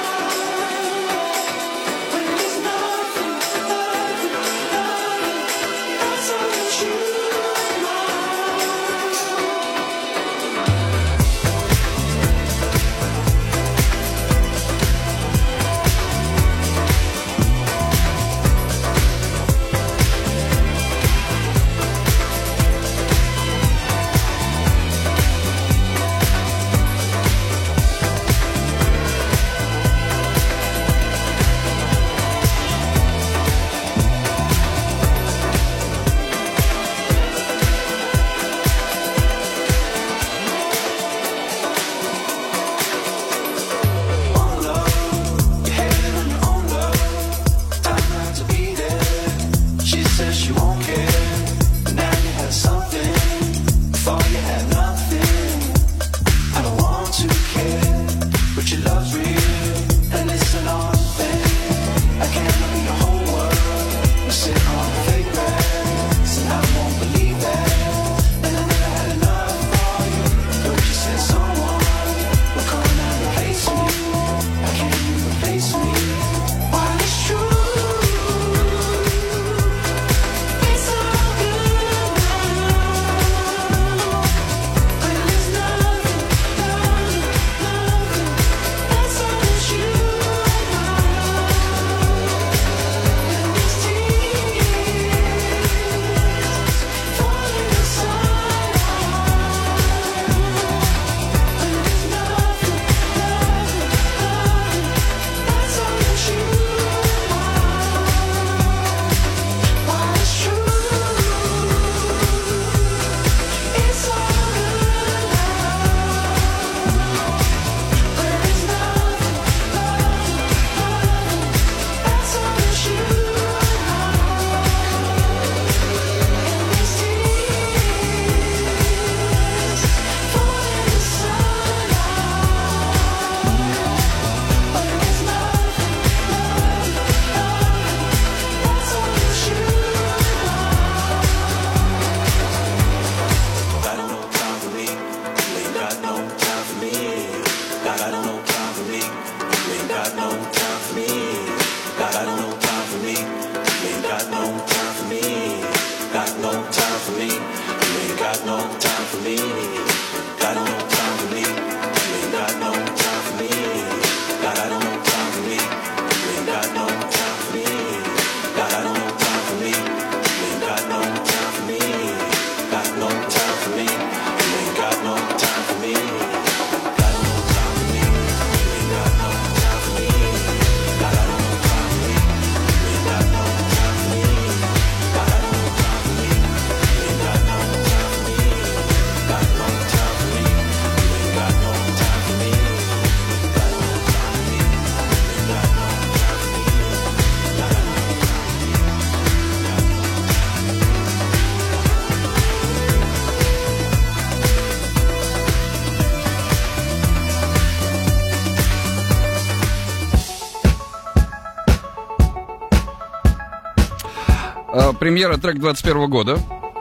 Премьера трек 21 года.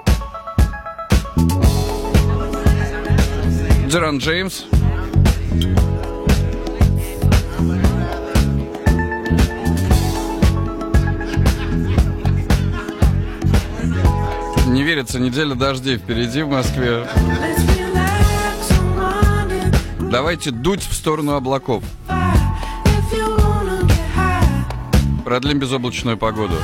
Джеран Джеймс. Не верится, неделя дождей впереди в Москве. Давайте дуть в сторону облаков. Продлим безоблачную погоду.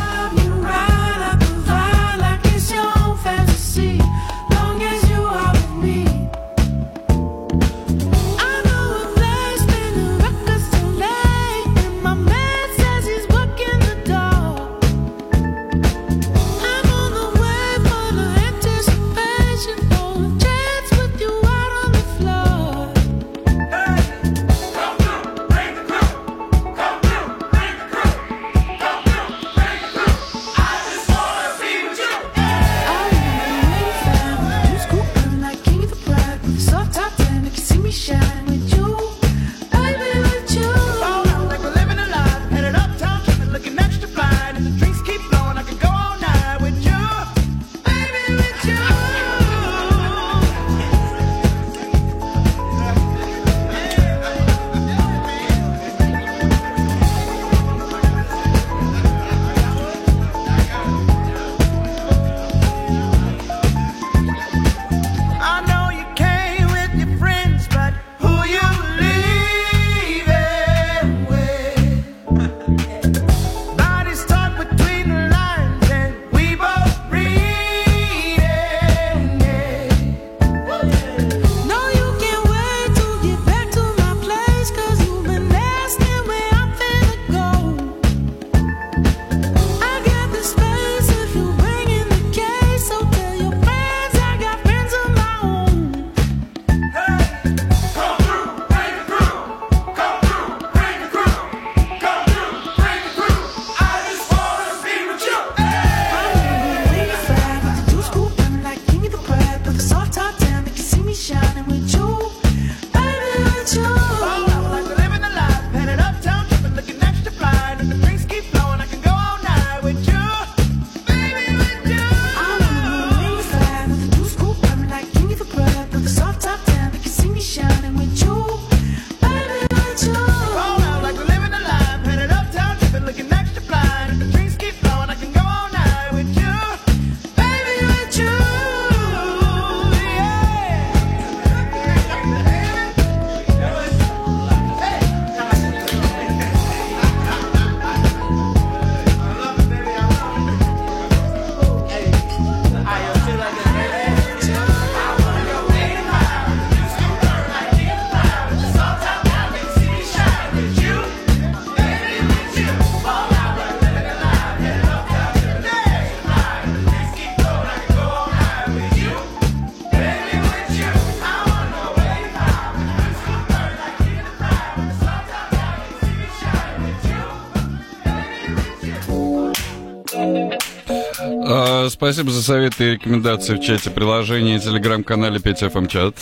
Спасибо за советы и рекомендации в чате приложения и телеграм-канале 5FM чат.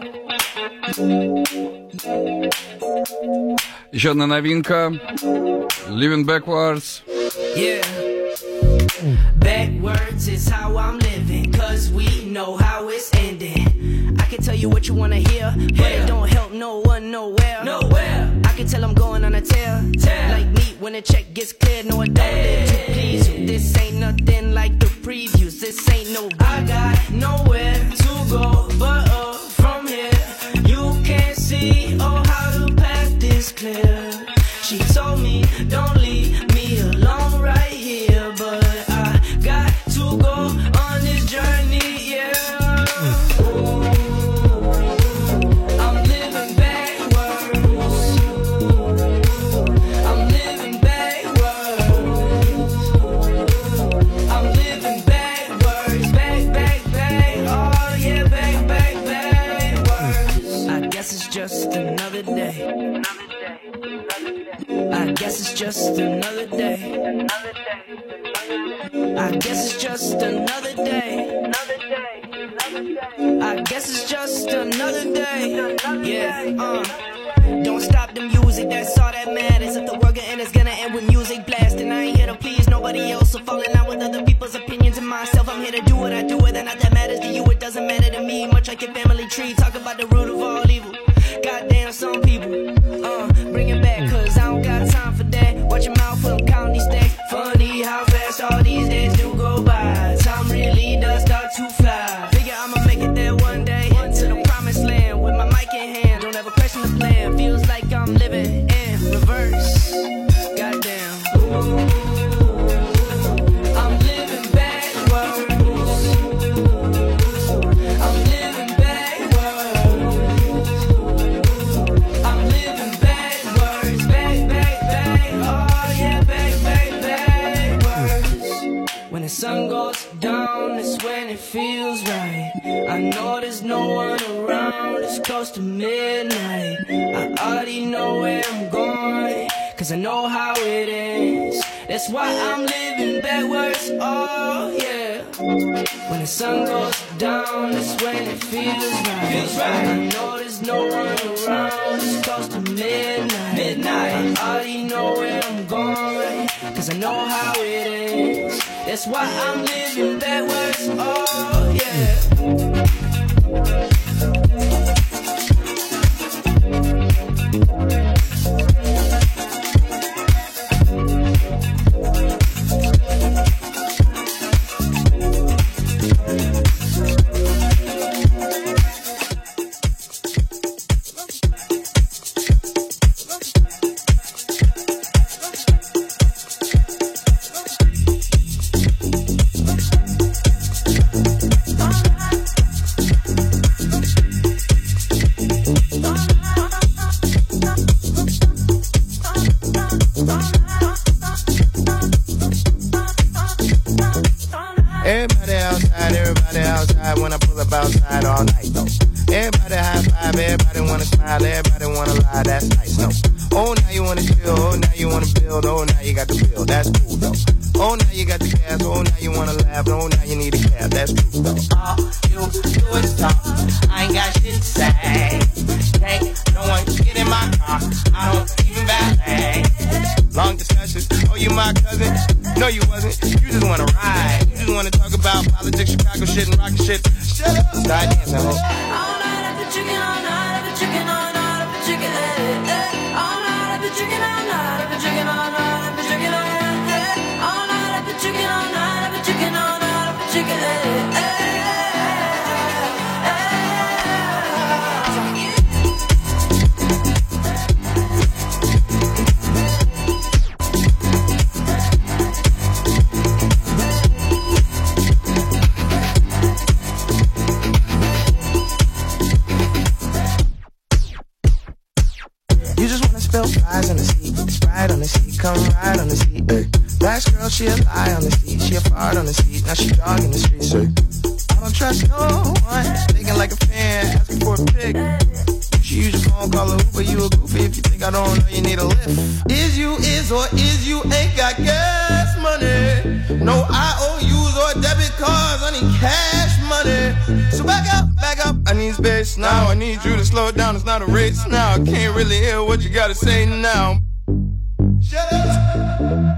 Еще одна новинка. Living Backwards. Yeah. Backwards is how I'm living, cause we know how it's ending. I can tell you what you wanna hear, but it don't help no one nowhere. I can tell I'm going on a tear. Like me when the check gets cleared, no I don't live to please you. This ain't nothing like the previews, this ain't no I got nowhere to go but up from here. You can't see how the path is clear. She told me don't leave me alone right here, but I got to go on this journey, yeah. I'm living backwards. I'm living backwards. I'm living backwards. Back, oh yeah, backwards. I guess it's just another day. I guess it's just another day. I guess it's just another day. I guess it's just another day. Yeah, Don't stop the music, that's all that matters. If the world gonna end, it's gonna end with music blasting. I ain't here to please no nobody else will fall in line with other people's opinions and myself. I'm here to do what I do, whether or not that matters to you, it doesn't matter to me. Much like your family tree, talk about the root of all evil. Goddamn, some people, bring it back, cause I don't got time for that. Watch your mouth when I'm counting these stacks. Funny how fast all these days do go by. Time really does start to fly. Figure I'ma make it there one day, to the promised land with my mic in hand. Don't ever question the plan. Feels like I'm living in reverse. Goddamn. I'm living backwards. I'm living backwards. I'm living backwards. Back. Oh yeah, backwards. When the sun goes down, it's when it feels right. I know there's no one around, it's close to midnight. I already know where I'm going, cause I know how it ends. That's why I'm living backwards, oh yeah. When the sun goes down, that's when it feels right. I know there's no one around, it's close to midnight. I already know where I'm going, cause I know how it ends. That's why I'm living backwards, oh yeah. Everybody outside when I pull up outside all night, though. Everybody high five, everybody wanna smile, everybody wanna lie, that's nice, no. Oh, now you wanna chill, oh, now you wanna build, oh, now you got the bill, that's cool, though. Oh, now you got the cash, oh, now you wanna laugh, oh, now you need a cab, that's cool, though. All you do is talk, I ain't got shit to say. Can't no one get in my car, I don't even valet. Long discussion, oh, you my cousin? No, you wasn't, you just wanna ride. You just wanna talk about politics, Chicago shit, and rockin' shit. Shut up, start dancing, ho. All night I've been chicken, all night I've been chicken, all night I've been chicken, all night I've been chicken, all night I've been chicken, all night I've been chicken, all night I've been chicken, all night I've been chicken, all night I've been chicken, Flies on the seat, Sprite on the seat, come ride on the seat, ay. Last girl, she a lie on the seat, she a fart on the seat, now she jogging the streets, ay. I don't trust no one, thinking like a fan, asking for a pic. You should use your phone, call a Uber, you a goofy if you think I don't know you need a lift. Is you is or is you ain't got gas money? No IOUs or debit cards, I need cash money. So back up, I need space now, I need you to slow it down, it's not a race now. I can't really hear what you gotta say now. Shut up!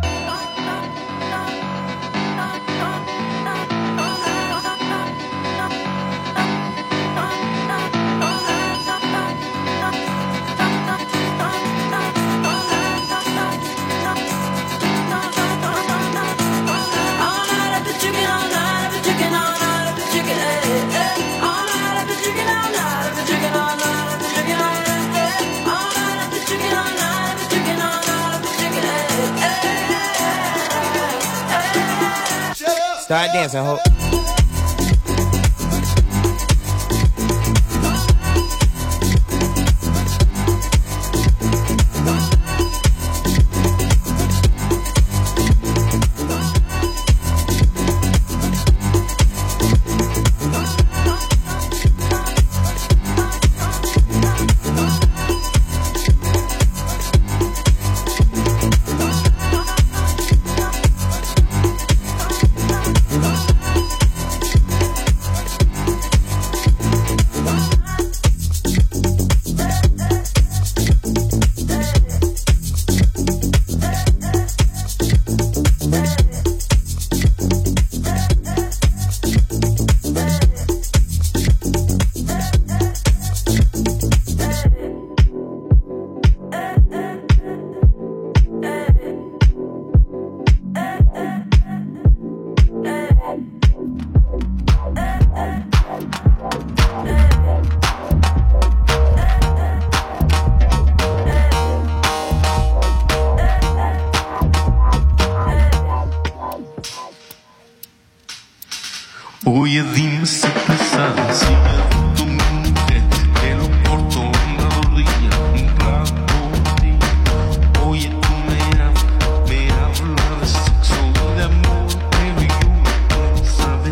Start dancing, ho. Oye, dime si tú sabes si me gusta una mujer, pelo corto, una rodilla, un rato de ti. Oye, tú me hablas de sexo y de amor, pero yo no sabes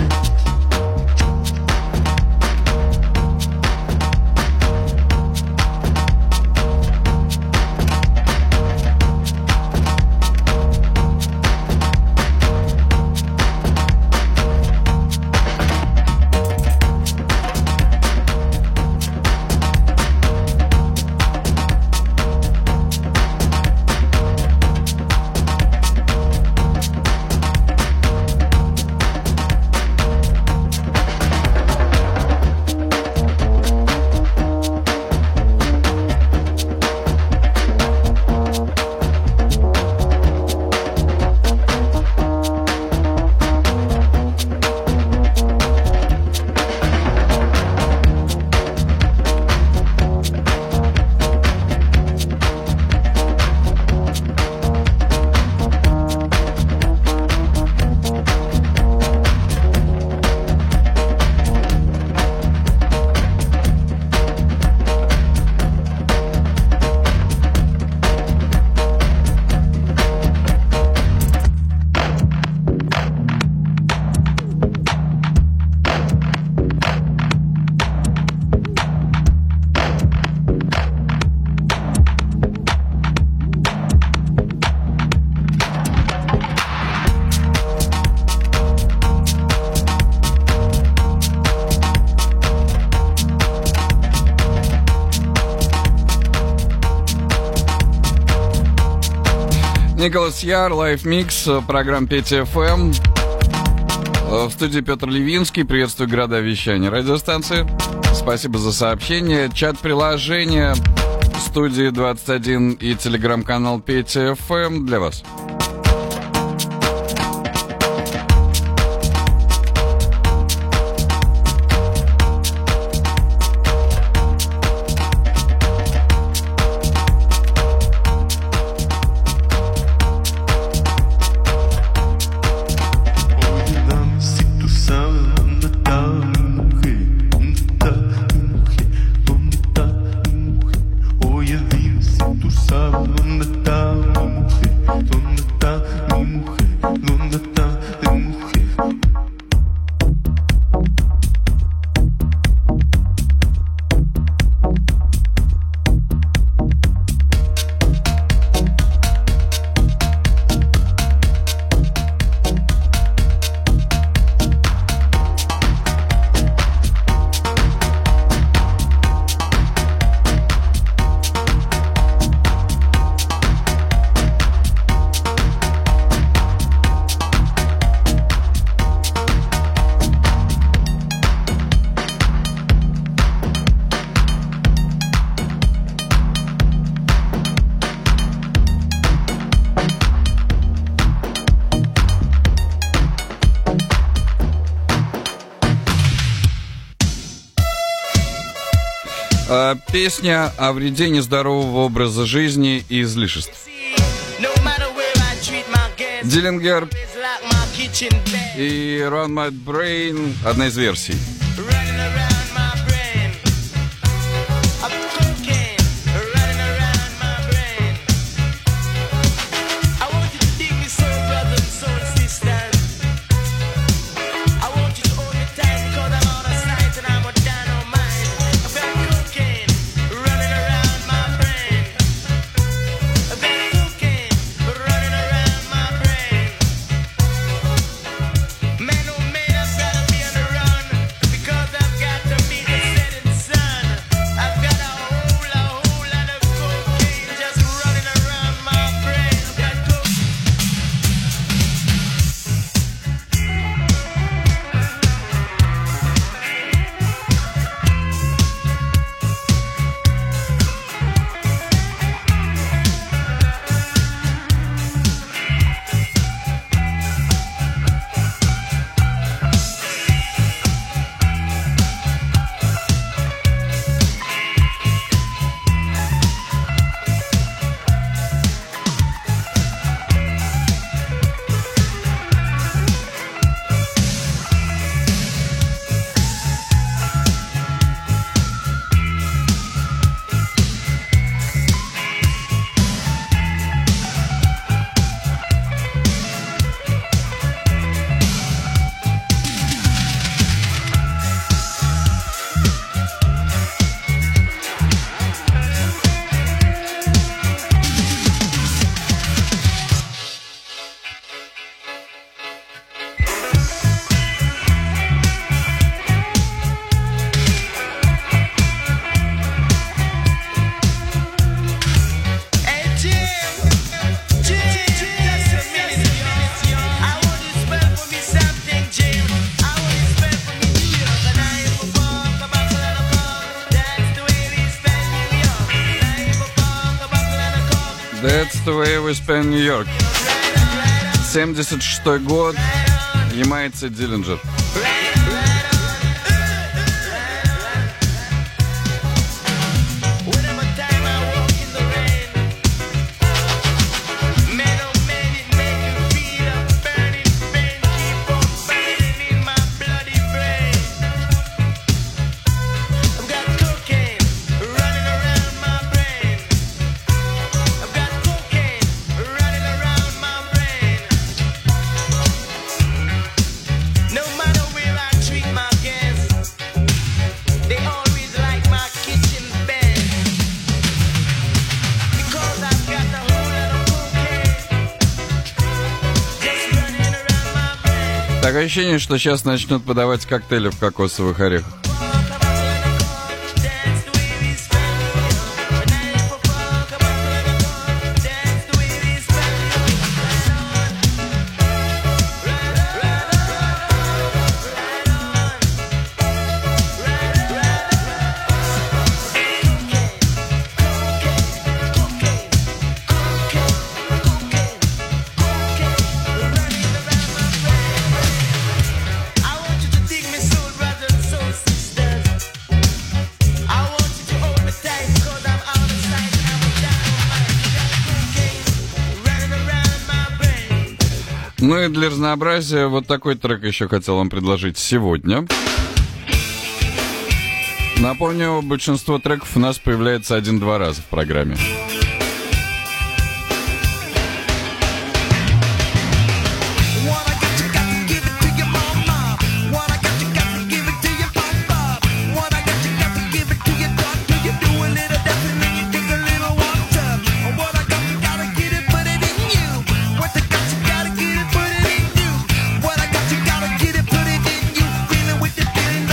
Николас Яр, Live Mix, программа Петя ФМ. В студии Петр Левинский. Приветствую города вещания радиостанции. Спасибо за сообщение. Чат-приложение студии 21 и телеграм-канал Петя ФМ для вас. Песня о вреде нездорового образа жизни и излишеств. Диллингер и Run My Brain — одна из версий. Man, oh man, I've gotta be on the run because I've got That's the way we spend New York. 76-й год. Ямайцы Диллинджер. Такое ощущение, что сейчас начнут подавать коктейли в кокосовых орехах. Ну и для разнообразия вот такой трек еще хотел вам предложить сегодня. Напомню, большинство треков у нас появляется 1-2 раза в программе.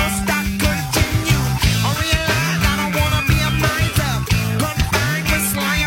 Slime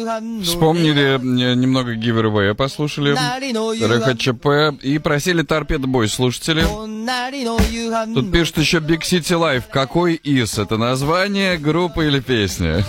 Вспомнили немного Giveaway, послушали РХЧП и просили Торпедо Бой слушатели. Тут пишут еще Big City Life. Какой из? Это название, группа или песня?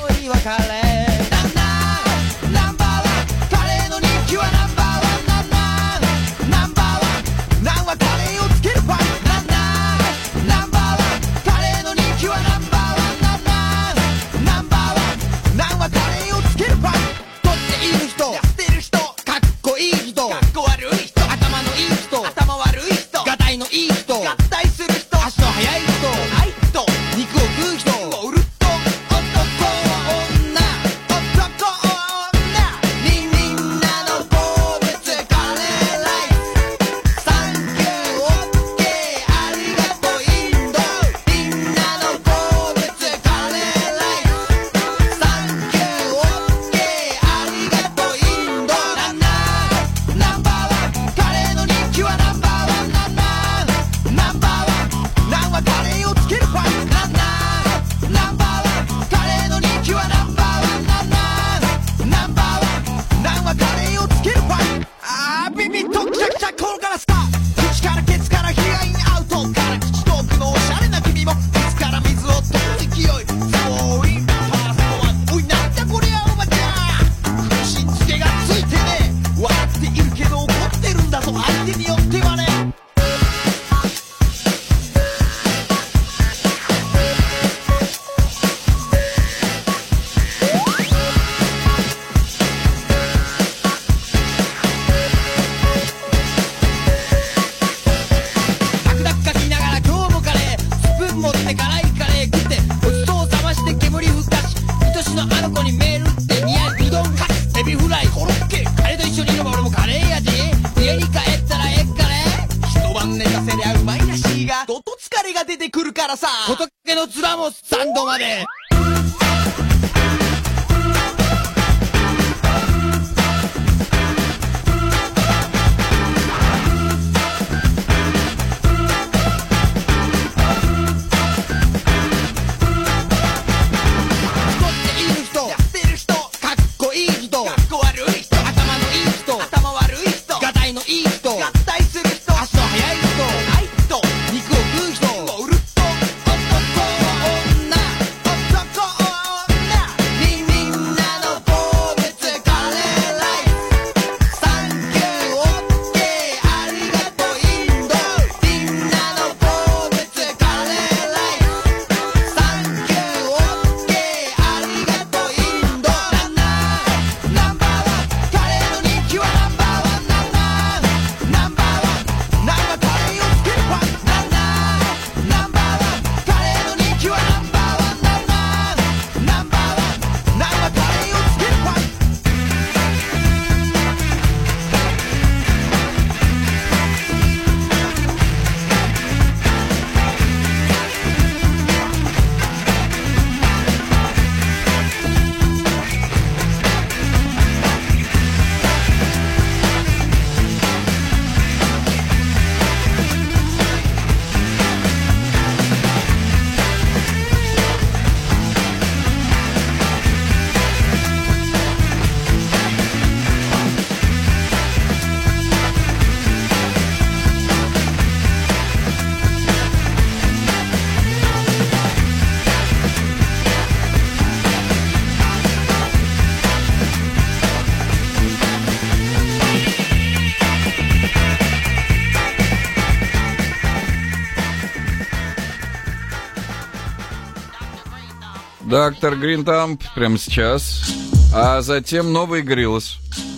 Доктор Гринтамп прямо сейчас. А затем новый Гриллос.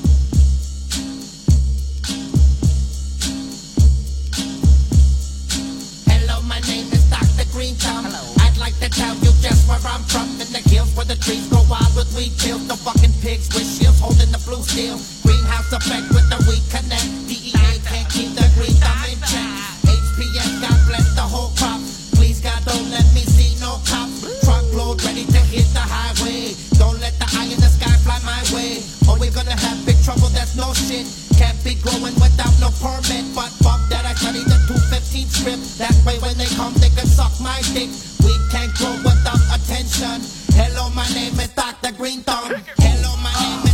Hello, my name is Dr. Greenthumb. I'd like to tell you just where I'm from. In the hills where the trees grow wild with weed pills. The fucking pigs with shields holding the blue steel. Greenhouse effect with the weed connect. DEA can't keep the green thumb in check. HPS, God bless the whole crop. Please God, don't let me see no cops. Truckload ready to hit the highway. Don't let the eye in the sky fly my way. Or we're gonna have big trouble, that's no shit. Can't be growing without no permit. But fuck that, I study the 215 script. That way when they come, they can suck my dick. We can't grow without attention. Hello, my name is Dr. Greenthumb. Hello, my name is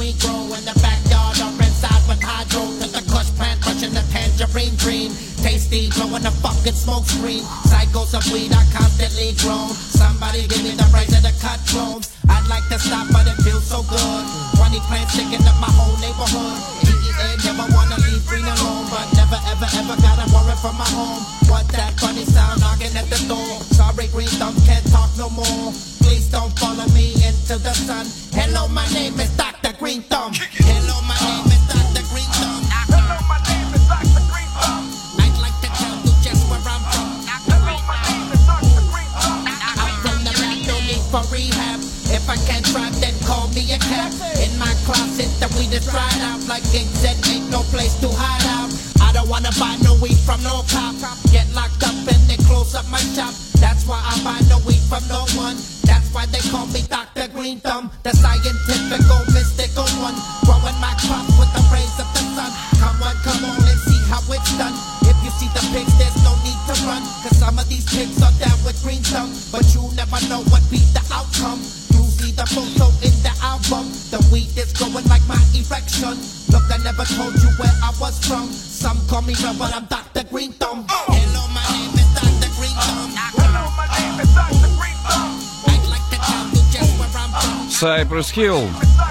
green grow in the backyard or inside with hydro. To the kush plant, pushing the tangerine dream. Tasty, blowing the fucking smoke screen. Cycles of weed are constantly grown. Somebody give me the rights of the cut clones. I'd like to stop, but it feels so good. 20 plants sticking up my whole neighborhood. Never wanna leave green alone, but never ever ever gotta worry for my home. What that funny sound knocking at the door? Sorry, green thumb, can't talk no more. Please don't follow me into the sun. Hello, my name is Dr. Green Thumb. Hello, my name is Dr. Green Thumb. Hello, my name is Dr. Green Thumb. I'd like to tell you just where I'm from. Hello, my name is Dr. Green Thumb. I'm from the back, no need for rehab. If I can't drive, then call me a cab. In my closet, the weed is dried out like it said, ain't no place to hide out. I don't wanna buy no weed from no cop. Get locked up and they close up my shop. That's why I buy no weed from no one. That's why they call me Dr. Green Thumb, the scientific, mystical one. Growing my crops with the rays of the sun. Come on and see how it's done. If you see the pigs, there's no need to run. Cause some of these pigs are down with Green Thumb. But you never know what be the outcome. You see the photo in the album. The weed is growing like my erection. Look, I never told you where I was from. Some call me Red, but I'm Dr. Green Thumb. Hello, my name is Dr. Green Thumb. Hello, my name is Dr. Green Thumb. I'd like to tell you just where I'm from. Cypress Hill.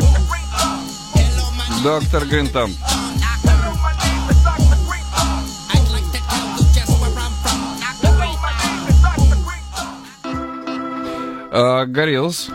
Доктор Green Thumb. Gorillaz.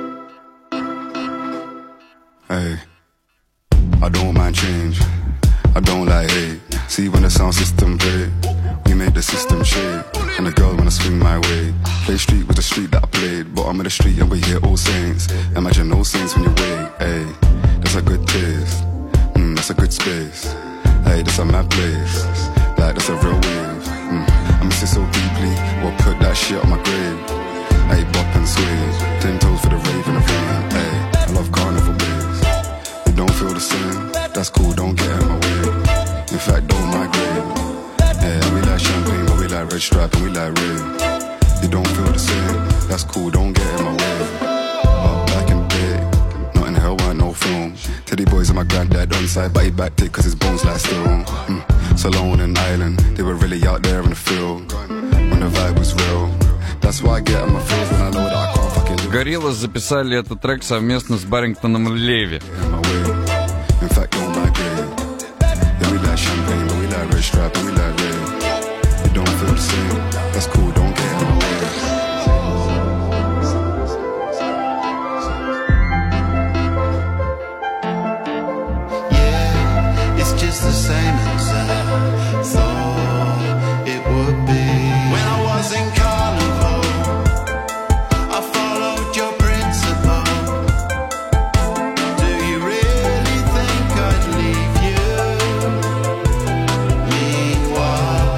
Hey, I don't mind change. I don't like hate. See when the sound system play, we make the system shake. And the girl wanna swing my way. Play street with the street that I played. Bottom of the street and we hear all saints. Imagine no saints when you wake. Hey, that's a good taste. That's a good space. Hey, that's a mad place. Like that's a real wave. I miss it so deeply. Well, put that shit on my grave. Hey, bop and sway. 10 toes for the rave and the rain. Hey, I love carnival waves. You don't feel the same. That's cool, don't get in my way. In fact, don't migrate. Yeah, we like champagne, but we like red stripe and we like red. You don't feel the same. That's cool, don't get in my way. But back in the day, not in hell, weren't no film. Teddy boys and my granddad on side, but he backed it cause his bones lie still. So alone in Ireland, they were really out there in the field. When the vibe was real. That's why I get on my feels when I know that I can't fucking live. Gorillaz записали этот трек совместно с Баррингтоном Леви. In fact, don't migrate. Yeah, we like champagne, but we like red stripe and we like red. You don't feel the same. That's cool, don't get in my way. Yeah, it's just the same as I thought it would be. When I was in Carnival, I followed your principle. Do you really think I'd leave you? Meanwhile,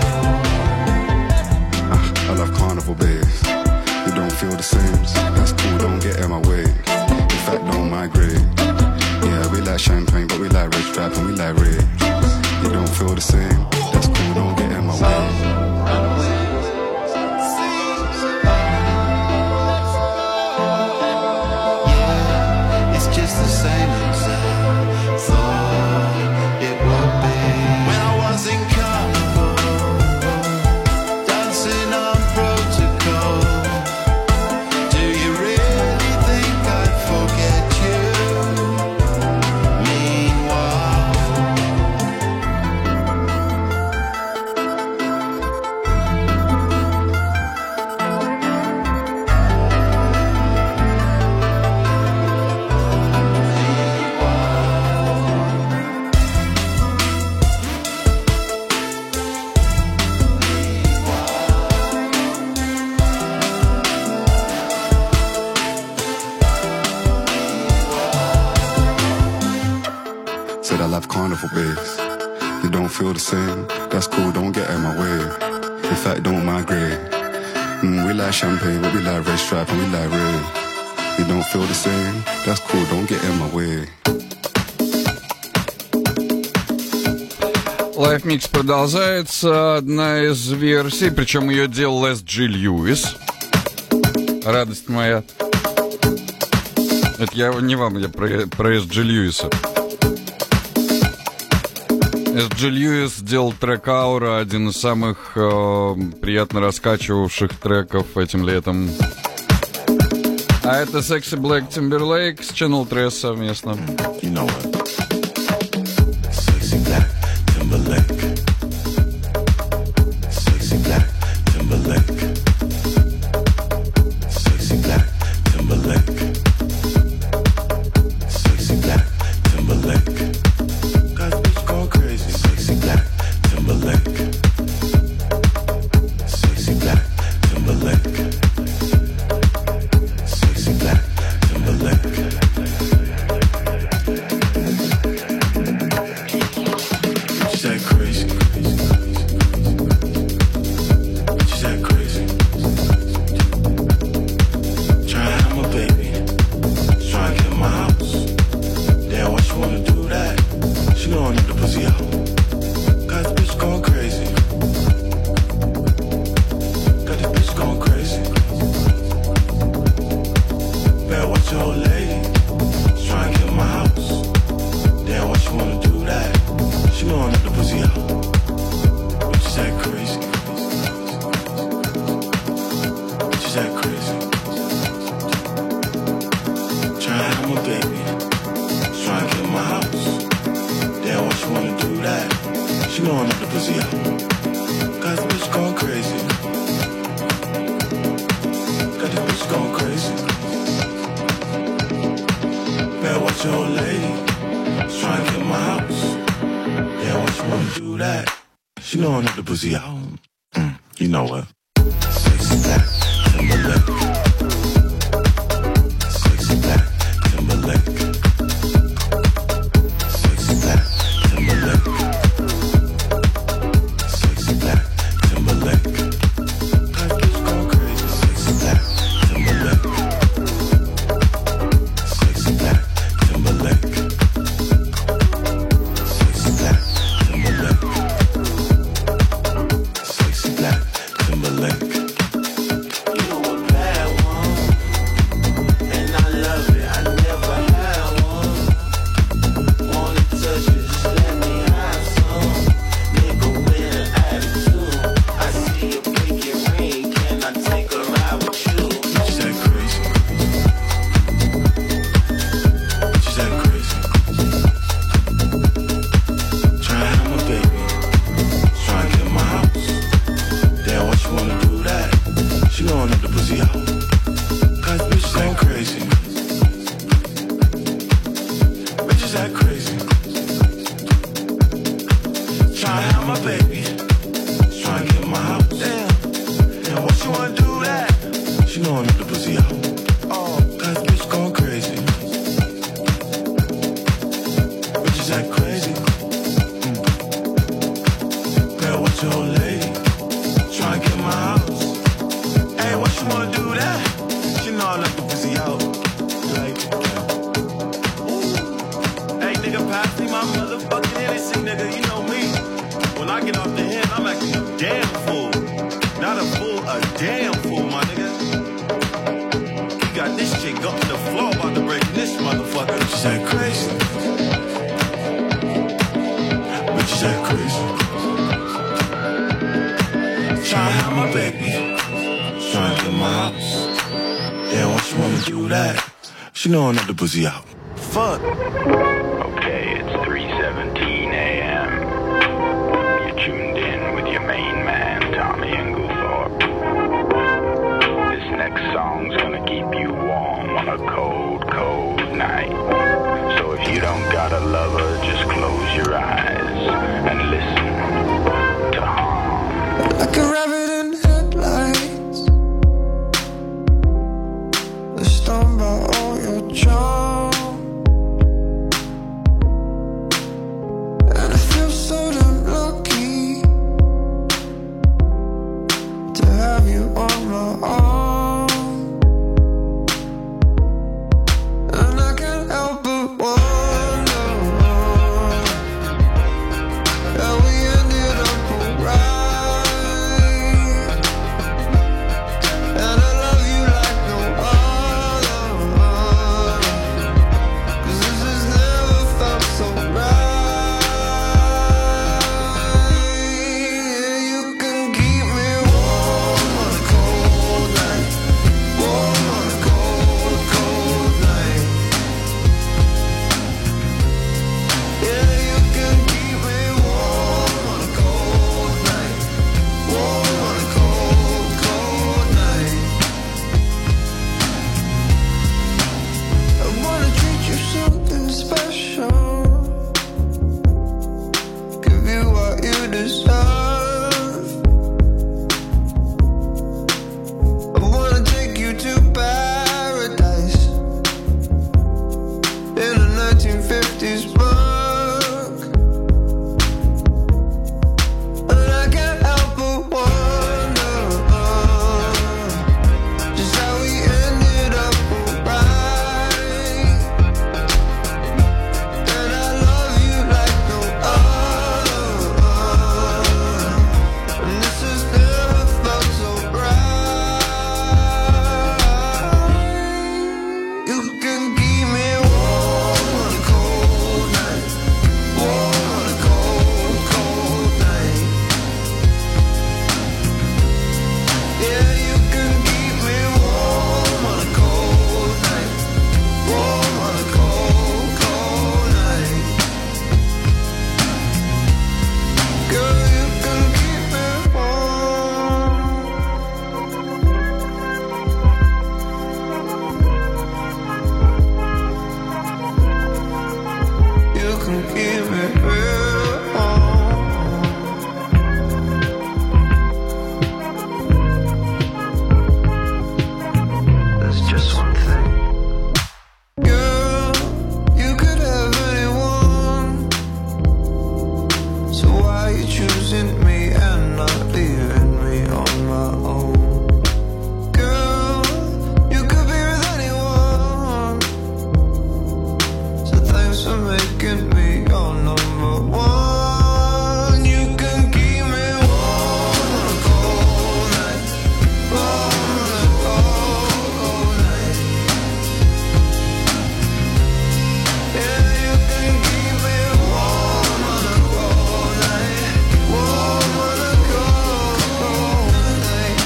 I love carnival bass. You don't feel the same. That's cool, don't get in my way. In fact, don't migrate. Yeah, we like champagne, but we like red stripe and we like red. You don't feel the same. That's cool, don't get in my way. just the same as I thought it would be. When I was in Carnival, dancing on protocol. Do you really think I'd forget you? Said I love carnival bass. You don't feel the same. That's cool, don't get in my way. In fact, don't migrate. We like champagne, but we like red stripe and we like red. You don't feel the same. That's cool, don't get in my way. Live Mix продолжается. Одна из версий, причем ее делал S.G. Lewis. Радость моя. Это я не вам, я про С.Джи Льюиса. С.Джи Льюис сделал трек «Аура», один из самых приятно раскачивавших треков этим летом. А это Sexy Black Timberlake с Channel 3 совместно. You know what? Sexy Black Timberlake. Sexy Black Timberlake. Sexy Black Timberlake. Sexy Black Timberlake. Got bitch going crazy. Sexy Black Timberlake. Sexy Black Timberlake. Sexy Black Timberlake. Bitch that crazy. Bitch that crazy. Try to have my baby. Try to get my house. Damn, why she wanna do that? She know I need the pussy out. Got this bitch going crazy. Got this bitch going crazy. Better watch your old lady. Try to get my house. Damn, why she wanna do that? She know I need the pussy out. Bitch is that crazy. Bitch is that crazy. Try to have my baby. Try to get my house. Damn, why she wanna do that? She know I need the pussy out. Got this bitch going crazy. Got this bitch going crazy. Better watch your old lady. Try to get my house. Damn, why she wanna do that? She know I need the pussy out. You know what? Sexy Black Timberlake. Sexy Black Timberlake. Sexy Black Timberlake. Sexy Black Timberlake. Got bitch going crazy. Sexy Black Timberlake. Sexy Black Timberlake. Sexy Black Timberlake. Sexy Black Timberlake. You know a bad one, and I love it. I never had one. Wanna touch it, just let me have some. Nigga with an attitude. I see a pinky ring, can I take a ride with you? Bitch that crazy. Bitch that crazy. Try to have my baby. Try to get my house. Damn, why she wanna do that? She gon' need the pussy out. Cause bitch that crazy. Bitches that crazy. Try to have my baby. Try to get my house. Damn, why she wanna do that? She know I need the pussy out. Oh, cause bitch going crazy. Bitches that crazy. Better watch your old lady. Try to get my house. Hey, why she wanna do that? She know I let the pussy out. Like, Hey, nigga, pass me my motherfucking Hennessy, nigga. You know me. When I get off the hand, I'm acting a damn fool. Not a fool, a damn fool, my nigga. You got this chick up to the floor about to break this motherfucker. bitches that crazy. Bitches that crazy. Try to have my baby. Try to get my house. Damn, why she wanna do that? She know I need the pussy out. Fuck. Okay, it's 3:17 a.m. You're tuned in with your main man, Tommy Englethorpe. This next song's gonna keep you warm on a cold, cold night. So if you don't got a lover, just close your eyes and listen to Harm. Like a rabbit in headlights, they're stoned by all your charm. And I feel so damn lucky to have you on my arm. And I can't help but wonder 1950s book. And I can't help but wonder just how we ended up alright. And I love you like no other, and this has never felt so right. You can keep me warm on a cold night, warm on a cold, cold night. Yeah, you can keep me warm on a cold night, warm on a cold, cold night. Girl, you can keep me warm. You can keep me real warm. There's just one thing. Girl, you could have anyone. So why are you choosing me and not leaving me on my own? Girl, you could be with anyone. So thanks for making me your number one. You can keep me warm on a cold night, warm on a cold, cold night. Yeah, you can keep me warm on a cold night, warm on a cold, cold night.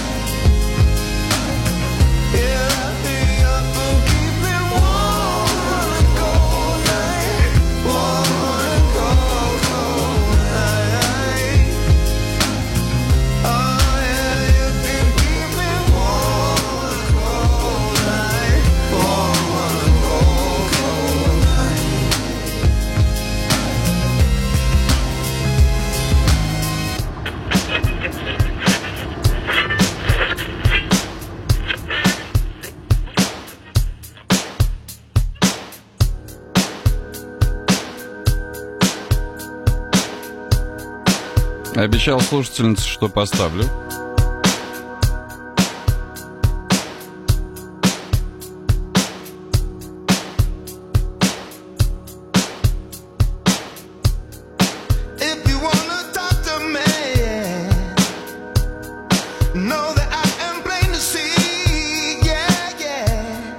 Yeah, wrap me up and keep me warm on a cold night, warm on a cold, cold night. Oh yeah, you can keep me warm on a cold night, warm on a cold, cold night. Обещал слушательнице, что поставлю. If you wanna talk to me, know that I am plain to see. Yeah, yeah.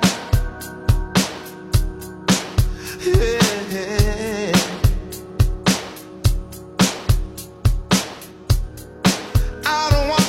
Yeah. I don't want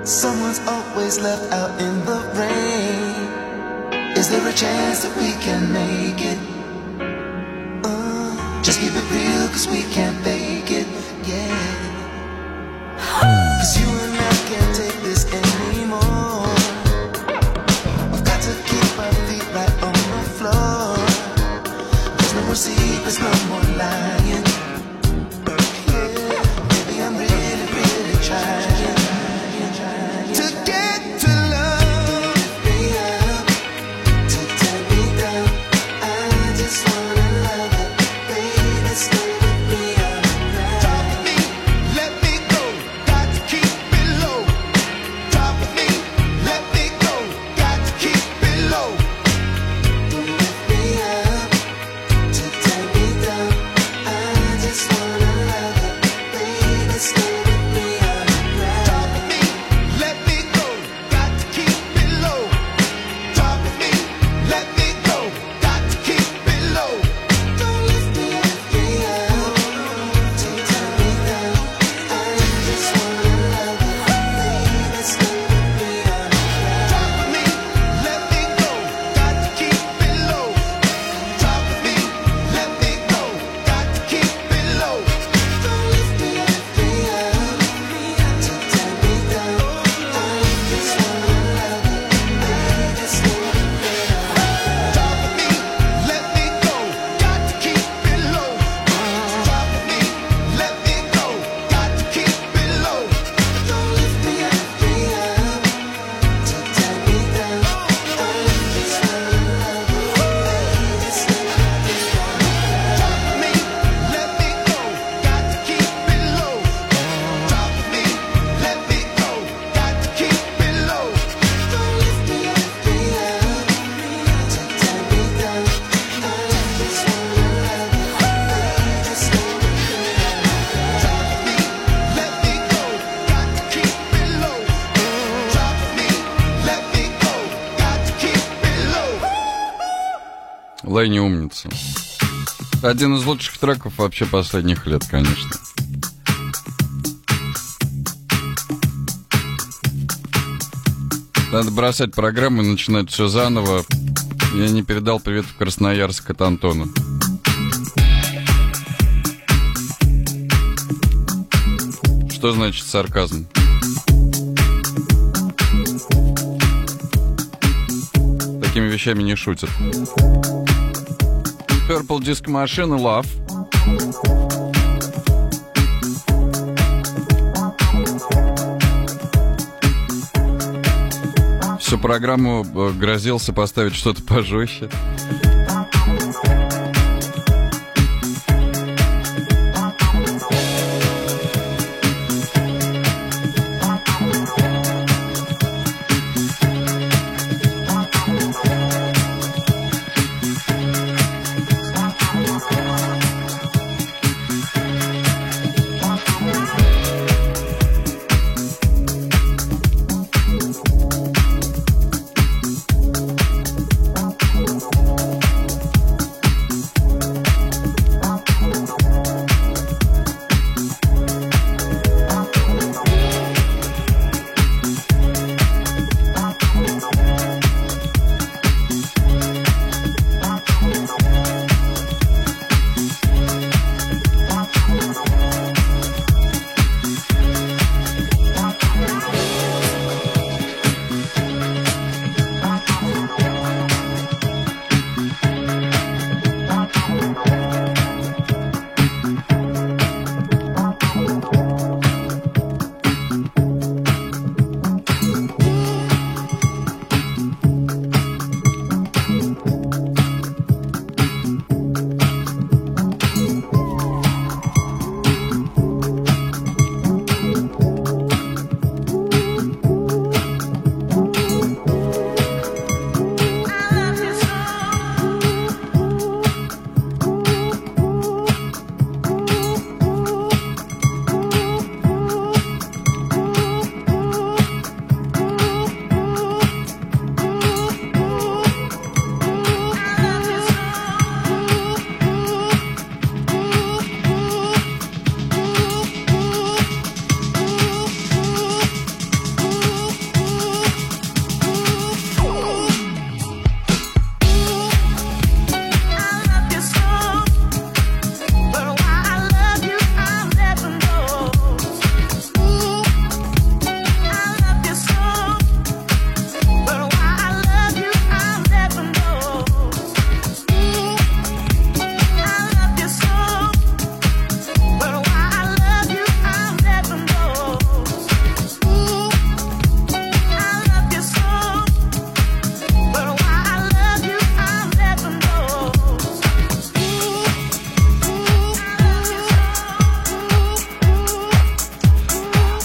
Someone's always left out in the rain. Is there a chance that we can make it? Just keep it real, cause we can't fake it, yeah. Cause you and I can't take this anymore. We've got to keep our feet right on the floor. There's no more secrets, no more lying. Yeah, maybe I'm really, really trying to get to love me up, to turn me down. I just wanna love it, baby, stay with me all night. Talk to me, let me go, got to keep it low. Talk to me, let me go, got to keep it low. Don't lift me up, to turn me down. I just wanna love it, baby, stay with me all night. Talk to me, let me go, got to keep it low. Talk to me, let me go, got to keep it low. Don't lift me up, to turn me down. I just wanna love it, baby, stay with me all night. Talk to me, let me go, got to keep it low. Talk to me, let me go, got to keep it low. Don't lift me up, to turn me down. I just wanna love it, baby, stay with me all night. Talk to me, let me go, got to keep it low. Talk to me, let me go, got to keep it low. Don't lift me up, to turn me down. I just wanna love it, baby, stay with me all night. Talk to me, let me go, got to keep it low. Talk to me, let me go, got to keep it low. Don't lift me up, to turn me down. I just wanna love it, baby, stay with me all night. Talk to me, let me go, got to keep it low. Talk to me, let me go, got to keep it low. Лэйни умница. Один из лучших треков вообще последних лет, конечно. Надо бросать программу и начинать все заново. Я не передал привет в Красноярск от Антона. Что значит сарказм? Такими вещами не шутят. Purple Disco Machine, Love. Всю программу грозился поставить что-то пожестче.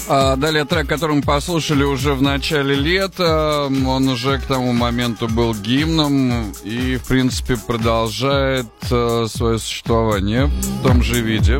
Далее трек, который мы послушали уже в начале лета, он уже к тому моменту был гимном и, в принципе, продолжает свое существование в том же виде.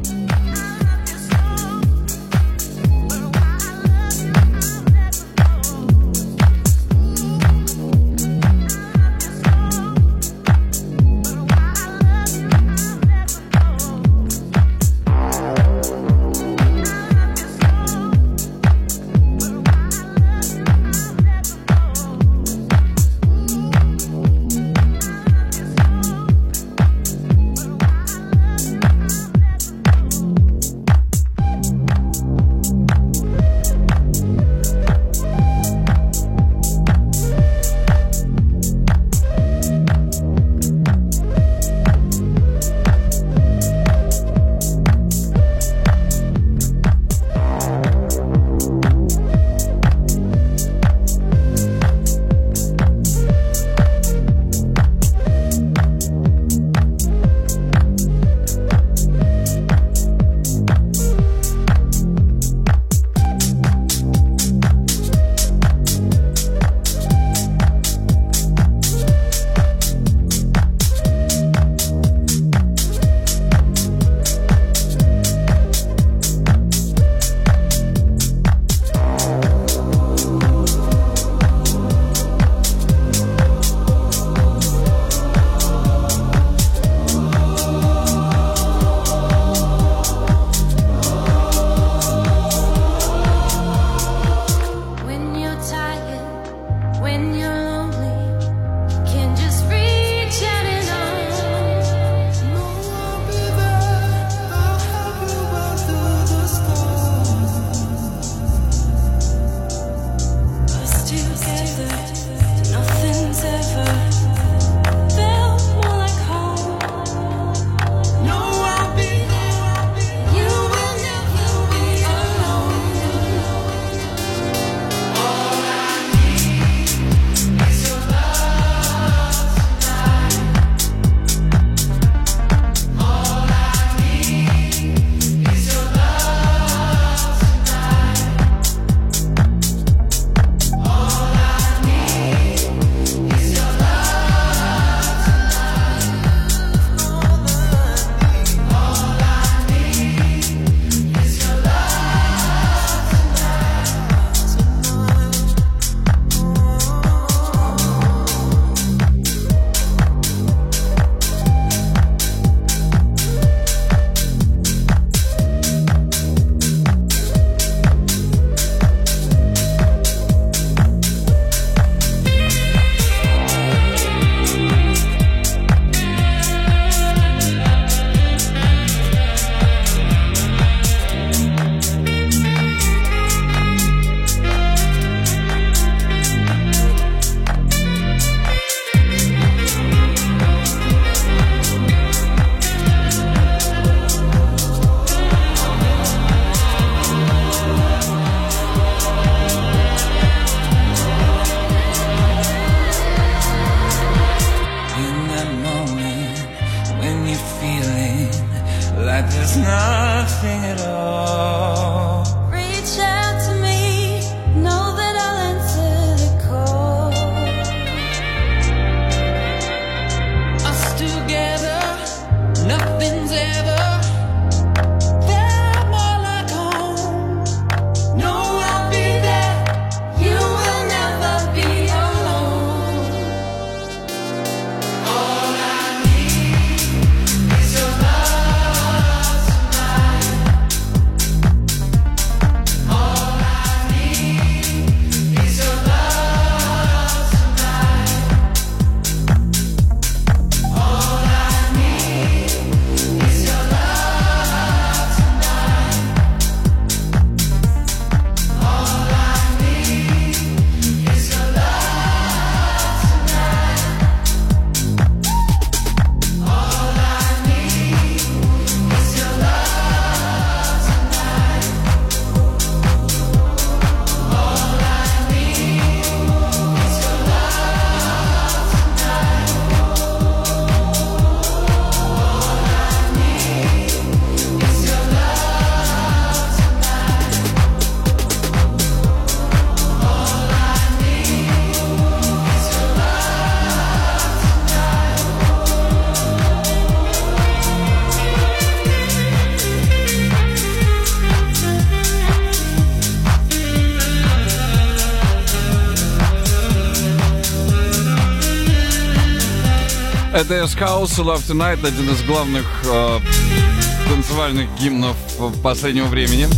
Это S-House, Love Tonight, один из главных танцевальных гимнов последнего времени.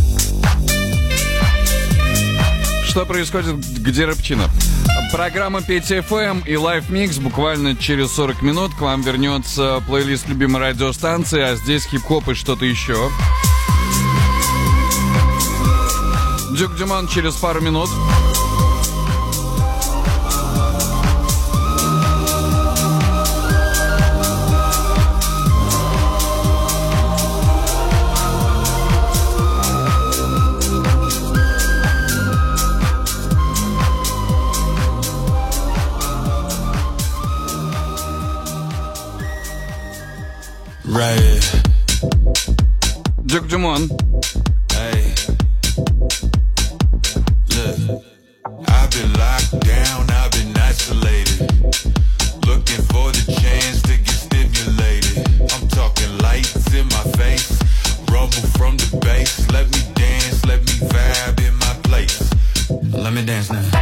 Что происходит, где рэпчина? Программа Петя FM и Live Mix. Буквально через 40 минут к вам вернется плейлист любимой радиостанции, а здесь хип-хоп и что-то еще. Дюк Дюман через пару минут. Right. Дюк Дюмон. Hey. Look, I've been locked down, I've been isolated. Looking for the chance to get stimulated. I'm talking lights in my face, rumble from the bass. Let me dance, let me vibe in my place. Let me dance now.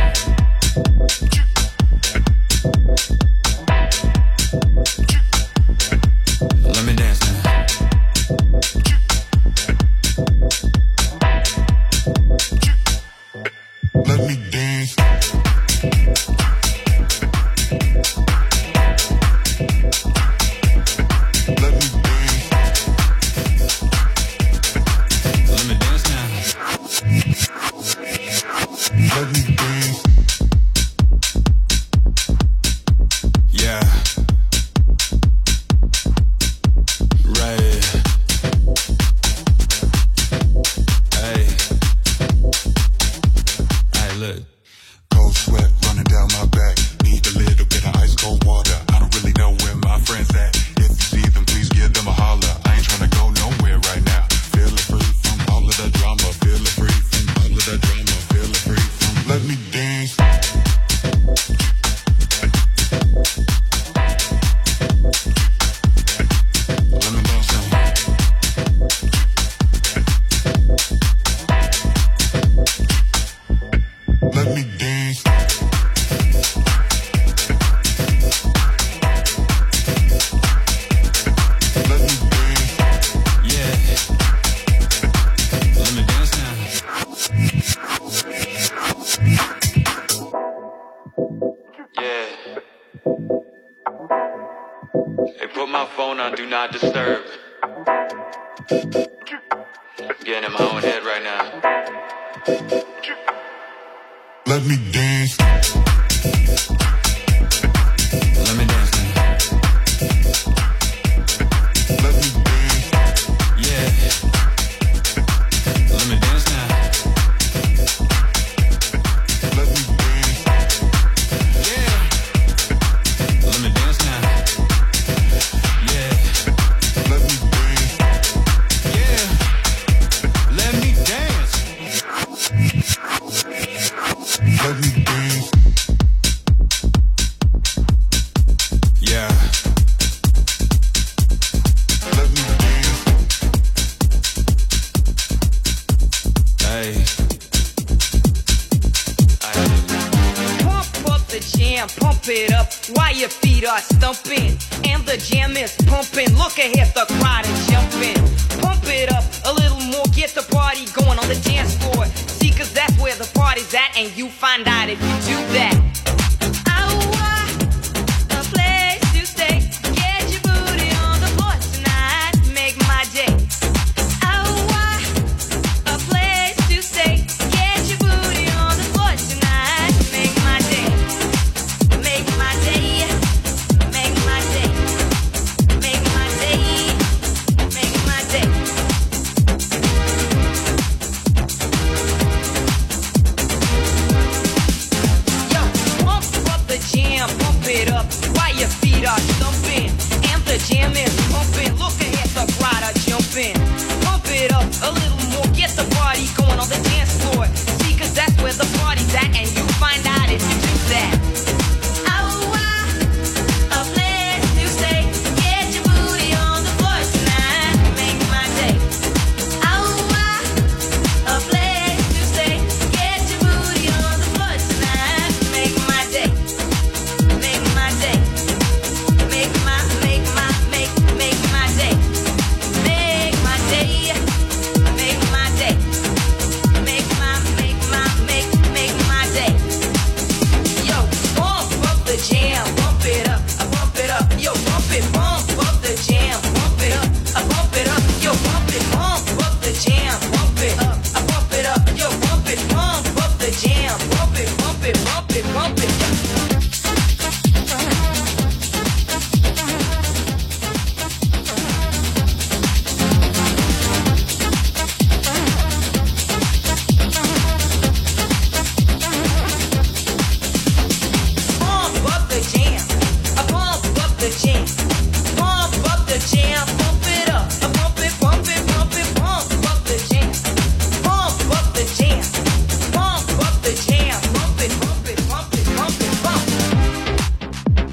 Let me dance now. Let me dance. Let me dance. Let me dance now. Let me dance. Yeah. Right. Hey. Hey, look. Cold sweat running down my back. Need a little bit of ice cold water. I don't really know where my friends at. If you see them, please give them a holler. I ain't tryna go nowhere right now. Feeling free from all of the drama. Feeling free from all of the drama. Feeling free from. Let me dance. Let me dance now. Let me dance. Let me dance. Yeah. Let me dance now. Yeah. Hey, put my phone on Do Not Disturb. I'm getting in my own head right now. Let me dance. Let me dance now. Let me dance. Yeah. Let me dance now. Let me dance. Yeah. Let me dance now. Yeah. Let me dance. Yeah. Let me dance. Let me dance. Yeah. Let me dance. Hey. Pump up the jam, pump it up while your feet are stumping. And the jam is pumping. Look ahead, the crowd is jumping. Pump it up a little more, get the party going on the dance floor. See, cause that's where the party's at, and you find out if you do that. A place to stay. Get your booty on the floor tonight. Make my day. A place to stay. Get your booty on the floor tonight. Make my day. Make my day. Make my day. Make my day. Make my day. Yo, it, pump it. Pump up the jam. I pump up the jam. Pump up the jam. Pump it up. I pump it, pump it, pump it. Pump up the jam. Pump up the jam. Pump up the jam. Pump it, pump it, pump it, pump it, pump.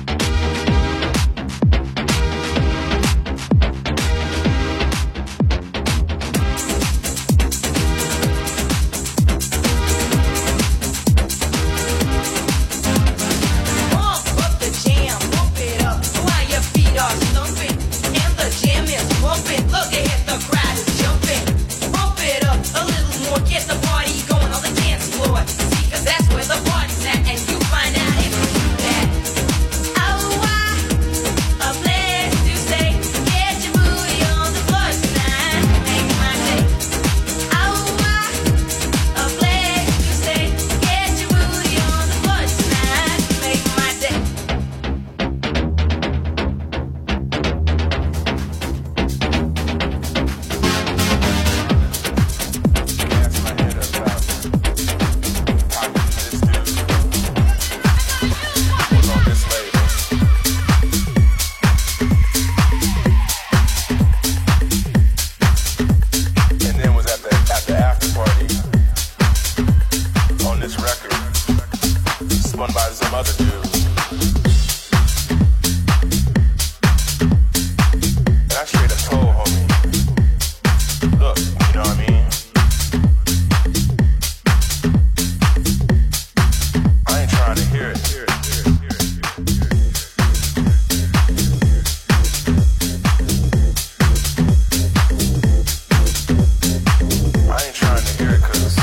Pump up the jam, pump it up while your feet are stumping and the jam is pumping. Look ahead, the crowd is jumping. Pump it up a little more, get the party going on the dance floor. See, 'cause that's where the party's at, and you find out if you do that. Oh, a place to stay. Get your booty on the floor tonight. Make my day. Oh, a place to stay. Get your booty on the floor tonight. Make my day. And then was at the after party on this record, spun by some other dude. And I straight up told homie, look, you know what I mean? I ain't trying to hear it. I ain't trying to hear it 'cause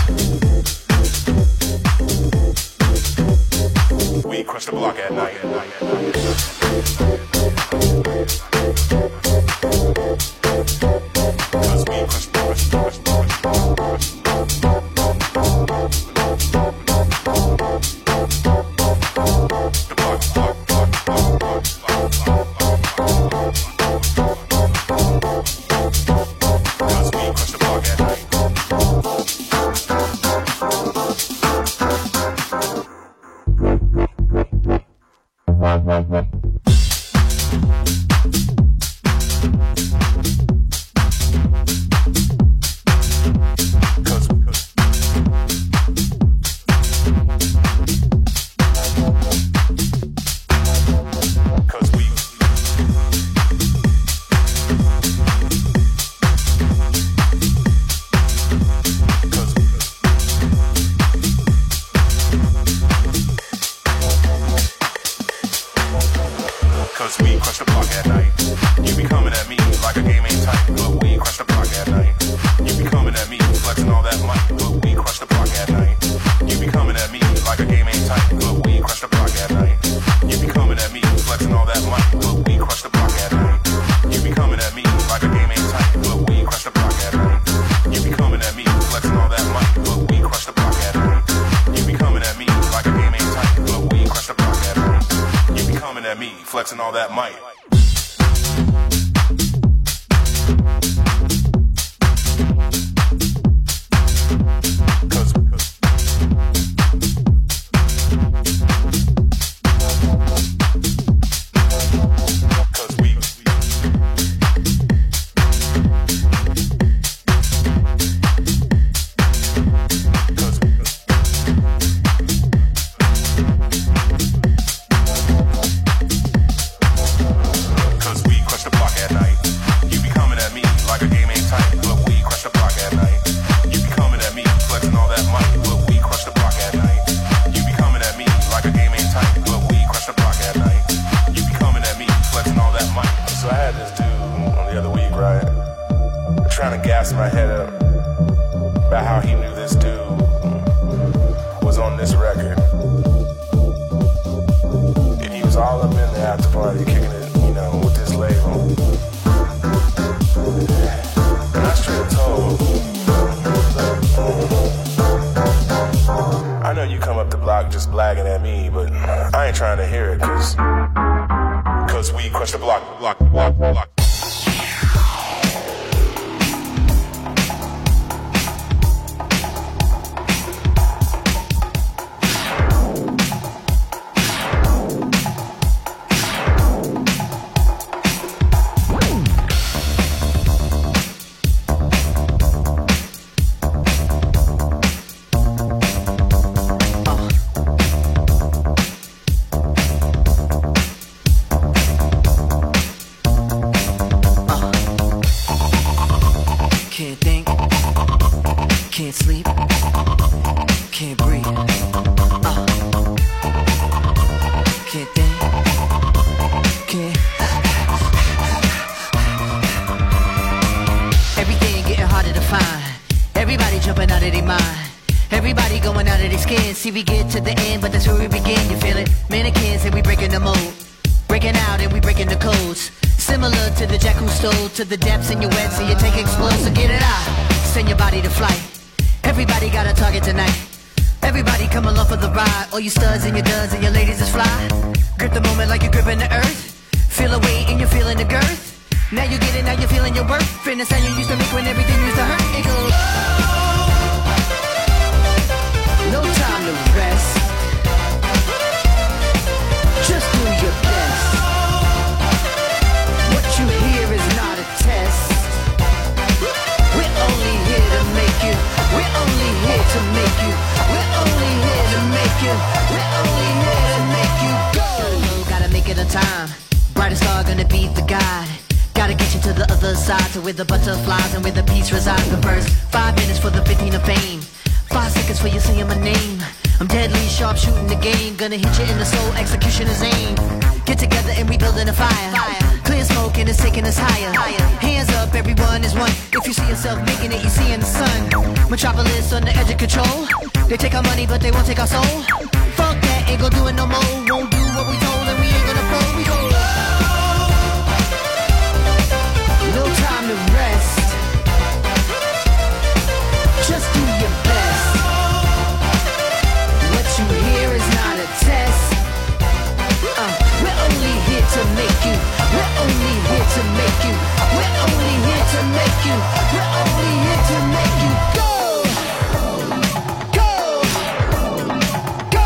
we crush the block at night. Cause we crush the block at night. Cause we crush the block at night. You be coming at me like a game ain't tight, but we crush the block at night. You be coming at me flexing all that might, but we crush the block at night. You be coming at me like a game ain't tight, but we crush the block at night. You be coming at me flexing all that might, but we crush the block at night. You be coming at me like a game ain't tight, but we crush the block at night. You be coming at me flexing all that might, but we crush the block at night. You be coming at me like a game ain't tight, but we crush the block at night. You be coming at me flexing all that might. the block just blagging at me, but I ain't trying to hear it, cause we crush the block. Can't think, can't sleep, can't breathe. Can't think, can't. Everything getting harder to find. Everybody jumping out of their mind. Everybody going out of their skin. See, we get to the end, but that's where we begin. You feel it? Mannequins and we breaking the mold. Breaking out and we breaking the codes. Similar to the jack who stole to the depths in your wet, so you take explode, so get it out. Send your body to flight. Everybody got a target tonight. Everybody come along for the ride. All you studs and your duds and your ladies is fly. Grip the moment like you're gripping the earth. Feel the weight and you're feeling the girth. Now you get it, now you're feeling your worth. And the sound you used to make when everything used to hurt. It goes, no time to rest. Just do your best. What you hear is not a test. We're only here to make you. We're only here to make you. We're only here to make you. We're only here to make you go. Gotta make it on time. Brightest star gonna be the guide. Gotta get you to the other side, to where the butterflies and where the peace resides. The first 5 minutes for the 15 of fame. 5 seconds for you saying my name. I'm deadly sharp shooting the game. Gonna hit you in the soul, execution is aim. Get together and we building a fire. Clear smoke and it's taking us higher. Hands up, everyone is one. If you see yourself making it, you see in the sun. Metropolis on the edge of control. They take our money, but they won't take our soul. Fuck that, ain't gon' do it no more. Won't do what we told and we ain't gonna fold. We go, no time to rest. Just do your best. What you hear is not a test. We're only here to make you. We're only here to make you. We're only here to make you. We're only here to make you go. Go. Go.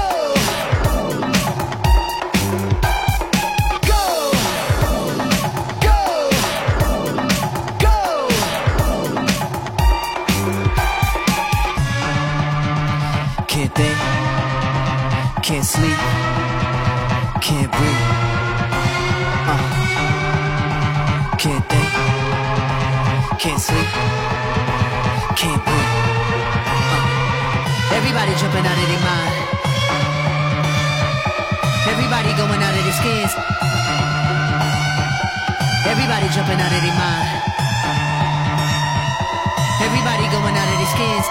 Go. Go. Go. Can't think, can't sleep, can't breathe. Can't think, can't sleep, can't breathe. Everybody jumping out of their mind. Everybody going out of their skins. Everybody jumping out of their mind. Everybody going out of their skins.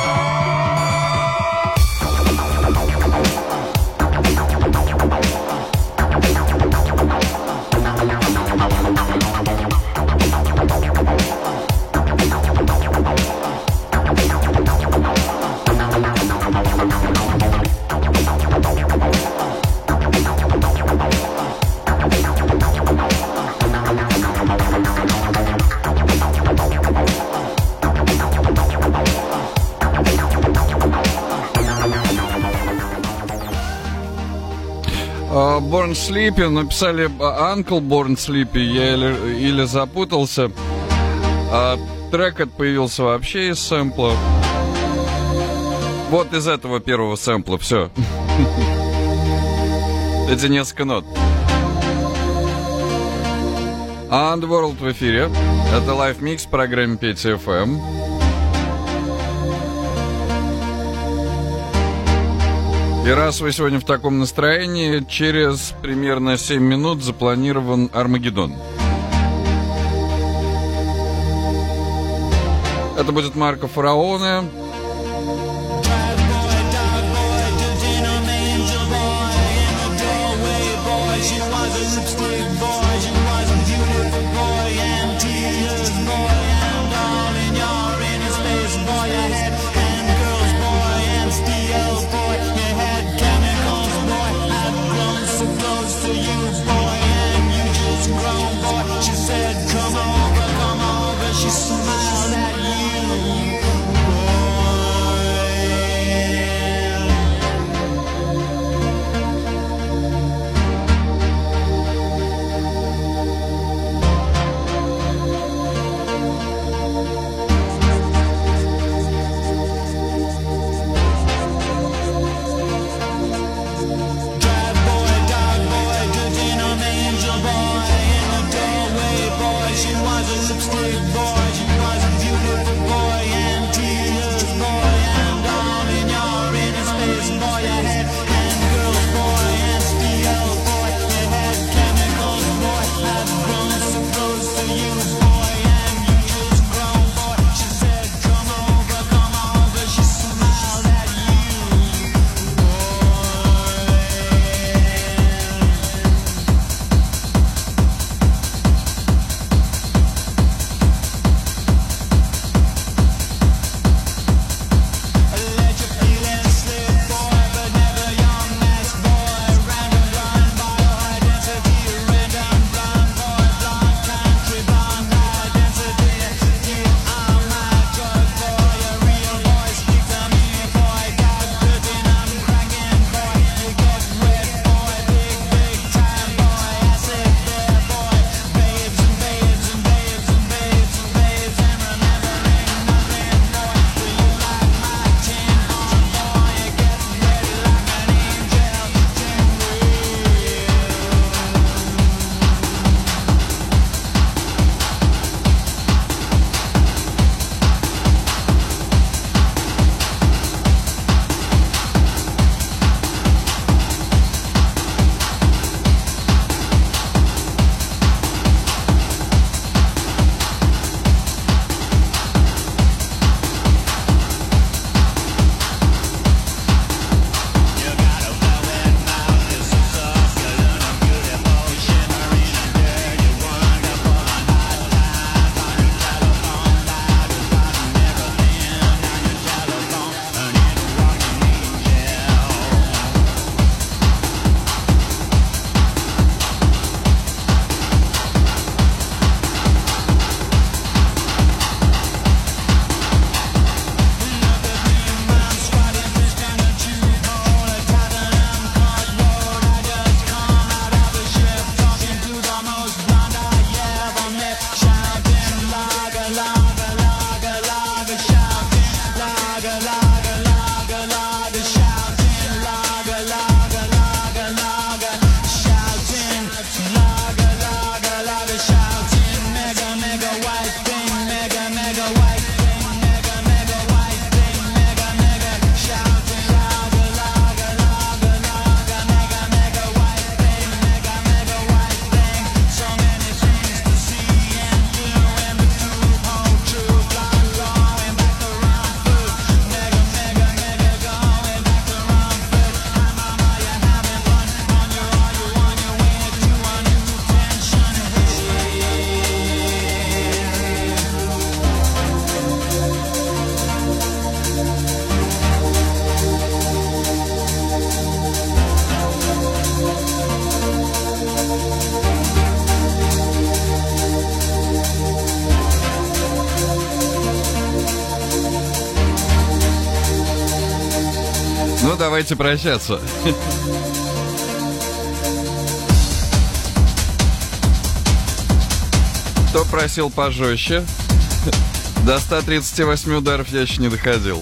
Born Sleepy, написали Uncle Born Sleepy, я или запутался. Трек этот появился вообще из сэмпла. Вот из этого первого сэмпла, все. Эти несколько нот. Underworld в эфире. Это Live Mix в программе Петя FM. И раз вы сегодня в таком настроении, через примерно 7 минут запланирован Армагеддон. Это будет Марко Фараоне. Boy, you had давайте прощаться. Кто просил пожестче? До 138 ударов я еще не доходил.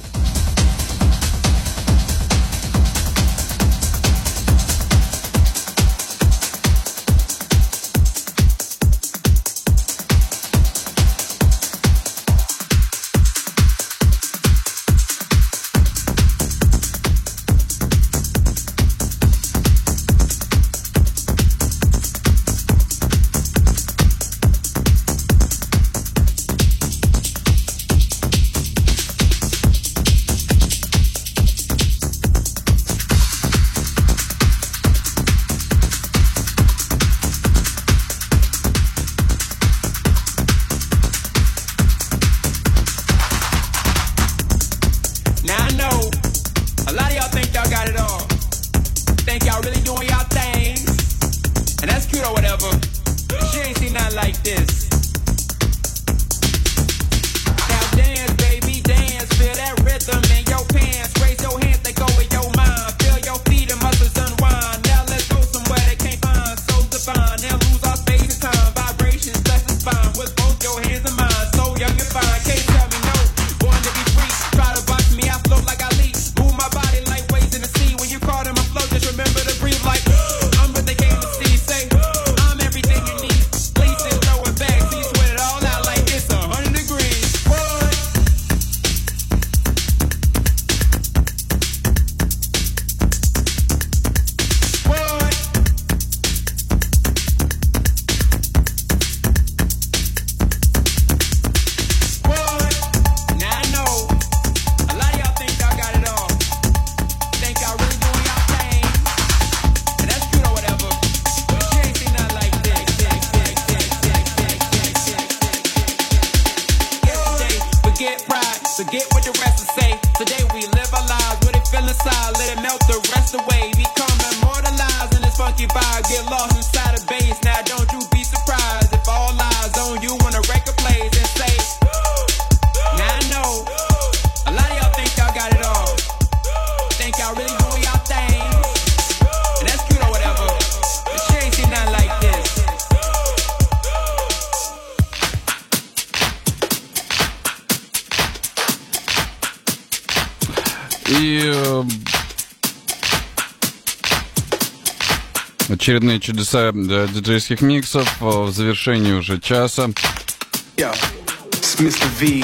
Очередные чудеса диджейских миксов в завершении уже часа. Yo, it's Mr. V.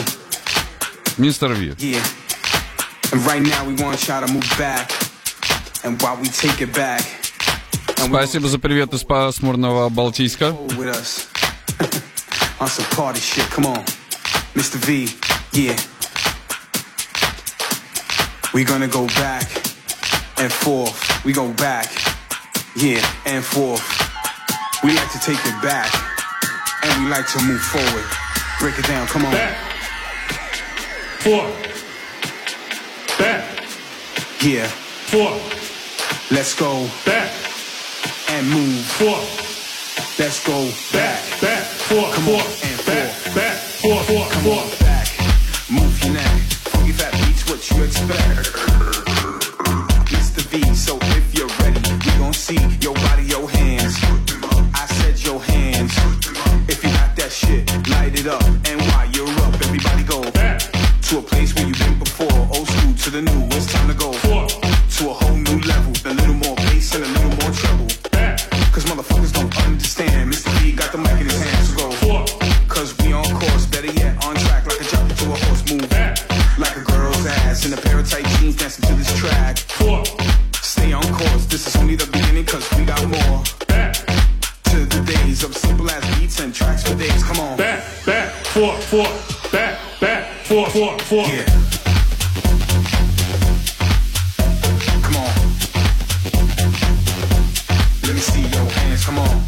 Мистер Ви. Yeah. And right now we want y'all to move back. And while we take it back. Спасибо за привет из пасмурного Балтийска. With us. On some party shit. Come on. Mr. V. Yeah. We gonna go back and forth. We go back. Yeah, and forth. We like to take it back, and we like to move forward. Break it down, come on. Back. Forth. Back. Yeah. Forth. Let's go. Back. And move. Forth. Let's go. Back. Back. Forth. Come Forth. on. And Back. forth. Back. Forth. Forth. Come Forth. on, back. Move your neck. Funky fat beats, what you expect. Mr. V, so if you're ready, we gon' see your body, your hands. I said your hands. If you got that shit, light it up. And while you're up, everybody go back to a place where you've been before. Old school to the new, it's time to go to a whole new level. A little more bass and a little more treble. Cause motherfuckers don't understand. Mr. V got the mic in his hands, so go. Cause we on course, better yet, on track like a jump to a horse move. Like a girl's ass in a pair of tight jeans dancing to this track. Stay on course, this is only the beginning cause we got more. To the days of simple ass beats and tracks for days, come on. Back, forth, forth, back, forth, forth, forth. Yeah. Come on. Let me see your hands, come on.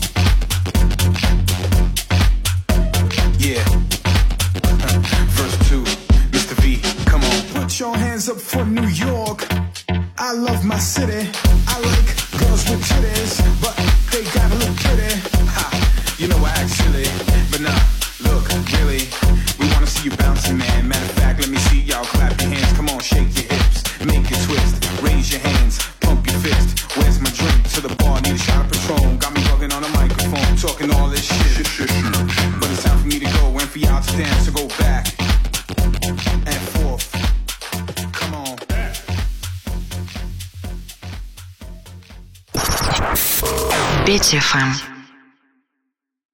Yeah. Verse 2, Mr. V, come on. Put your hands up for New York. I love my city. I like girls with titties, but they gotta look pretty. Ha, you know I act silly, but nah, look, really, we wanna see you bouncing, man. Matter of fact, let me see y'all Петя ФМ.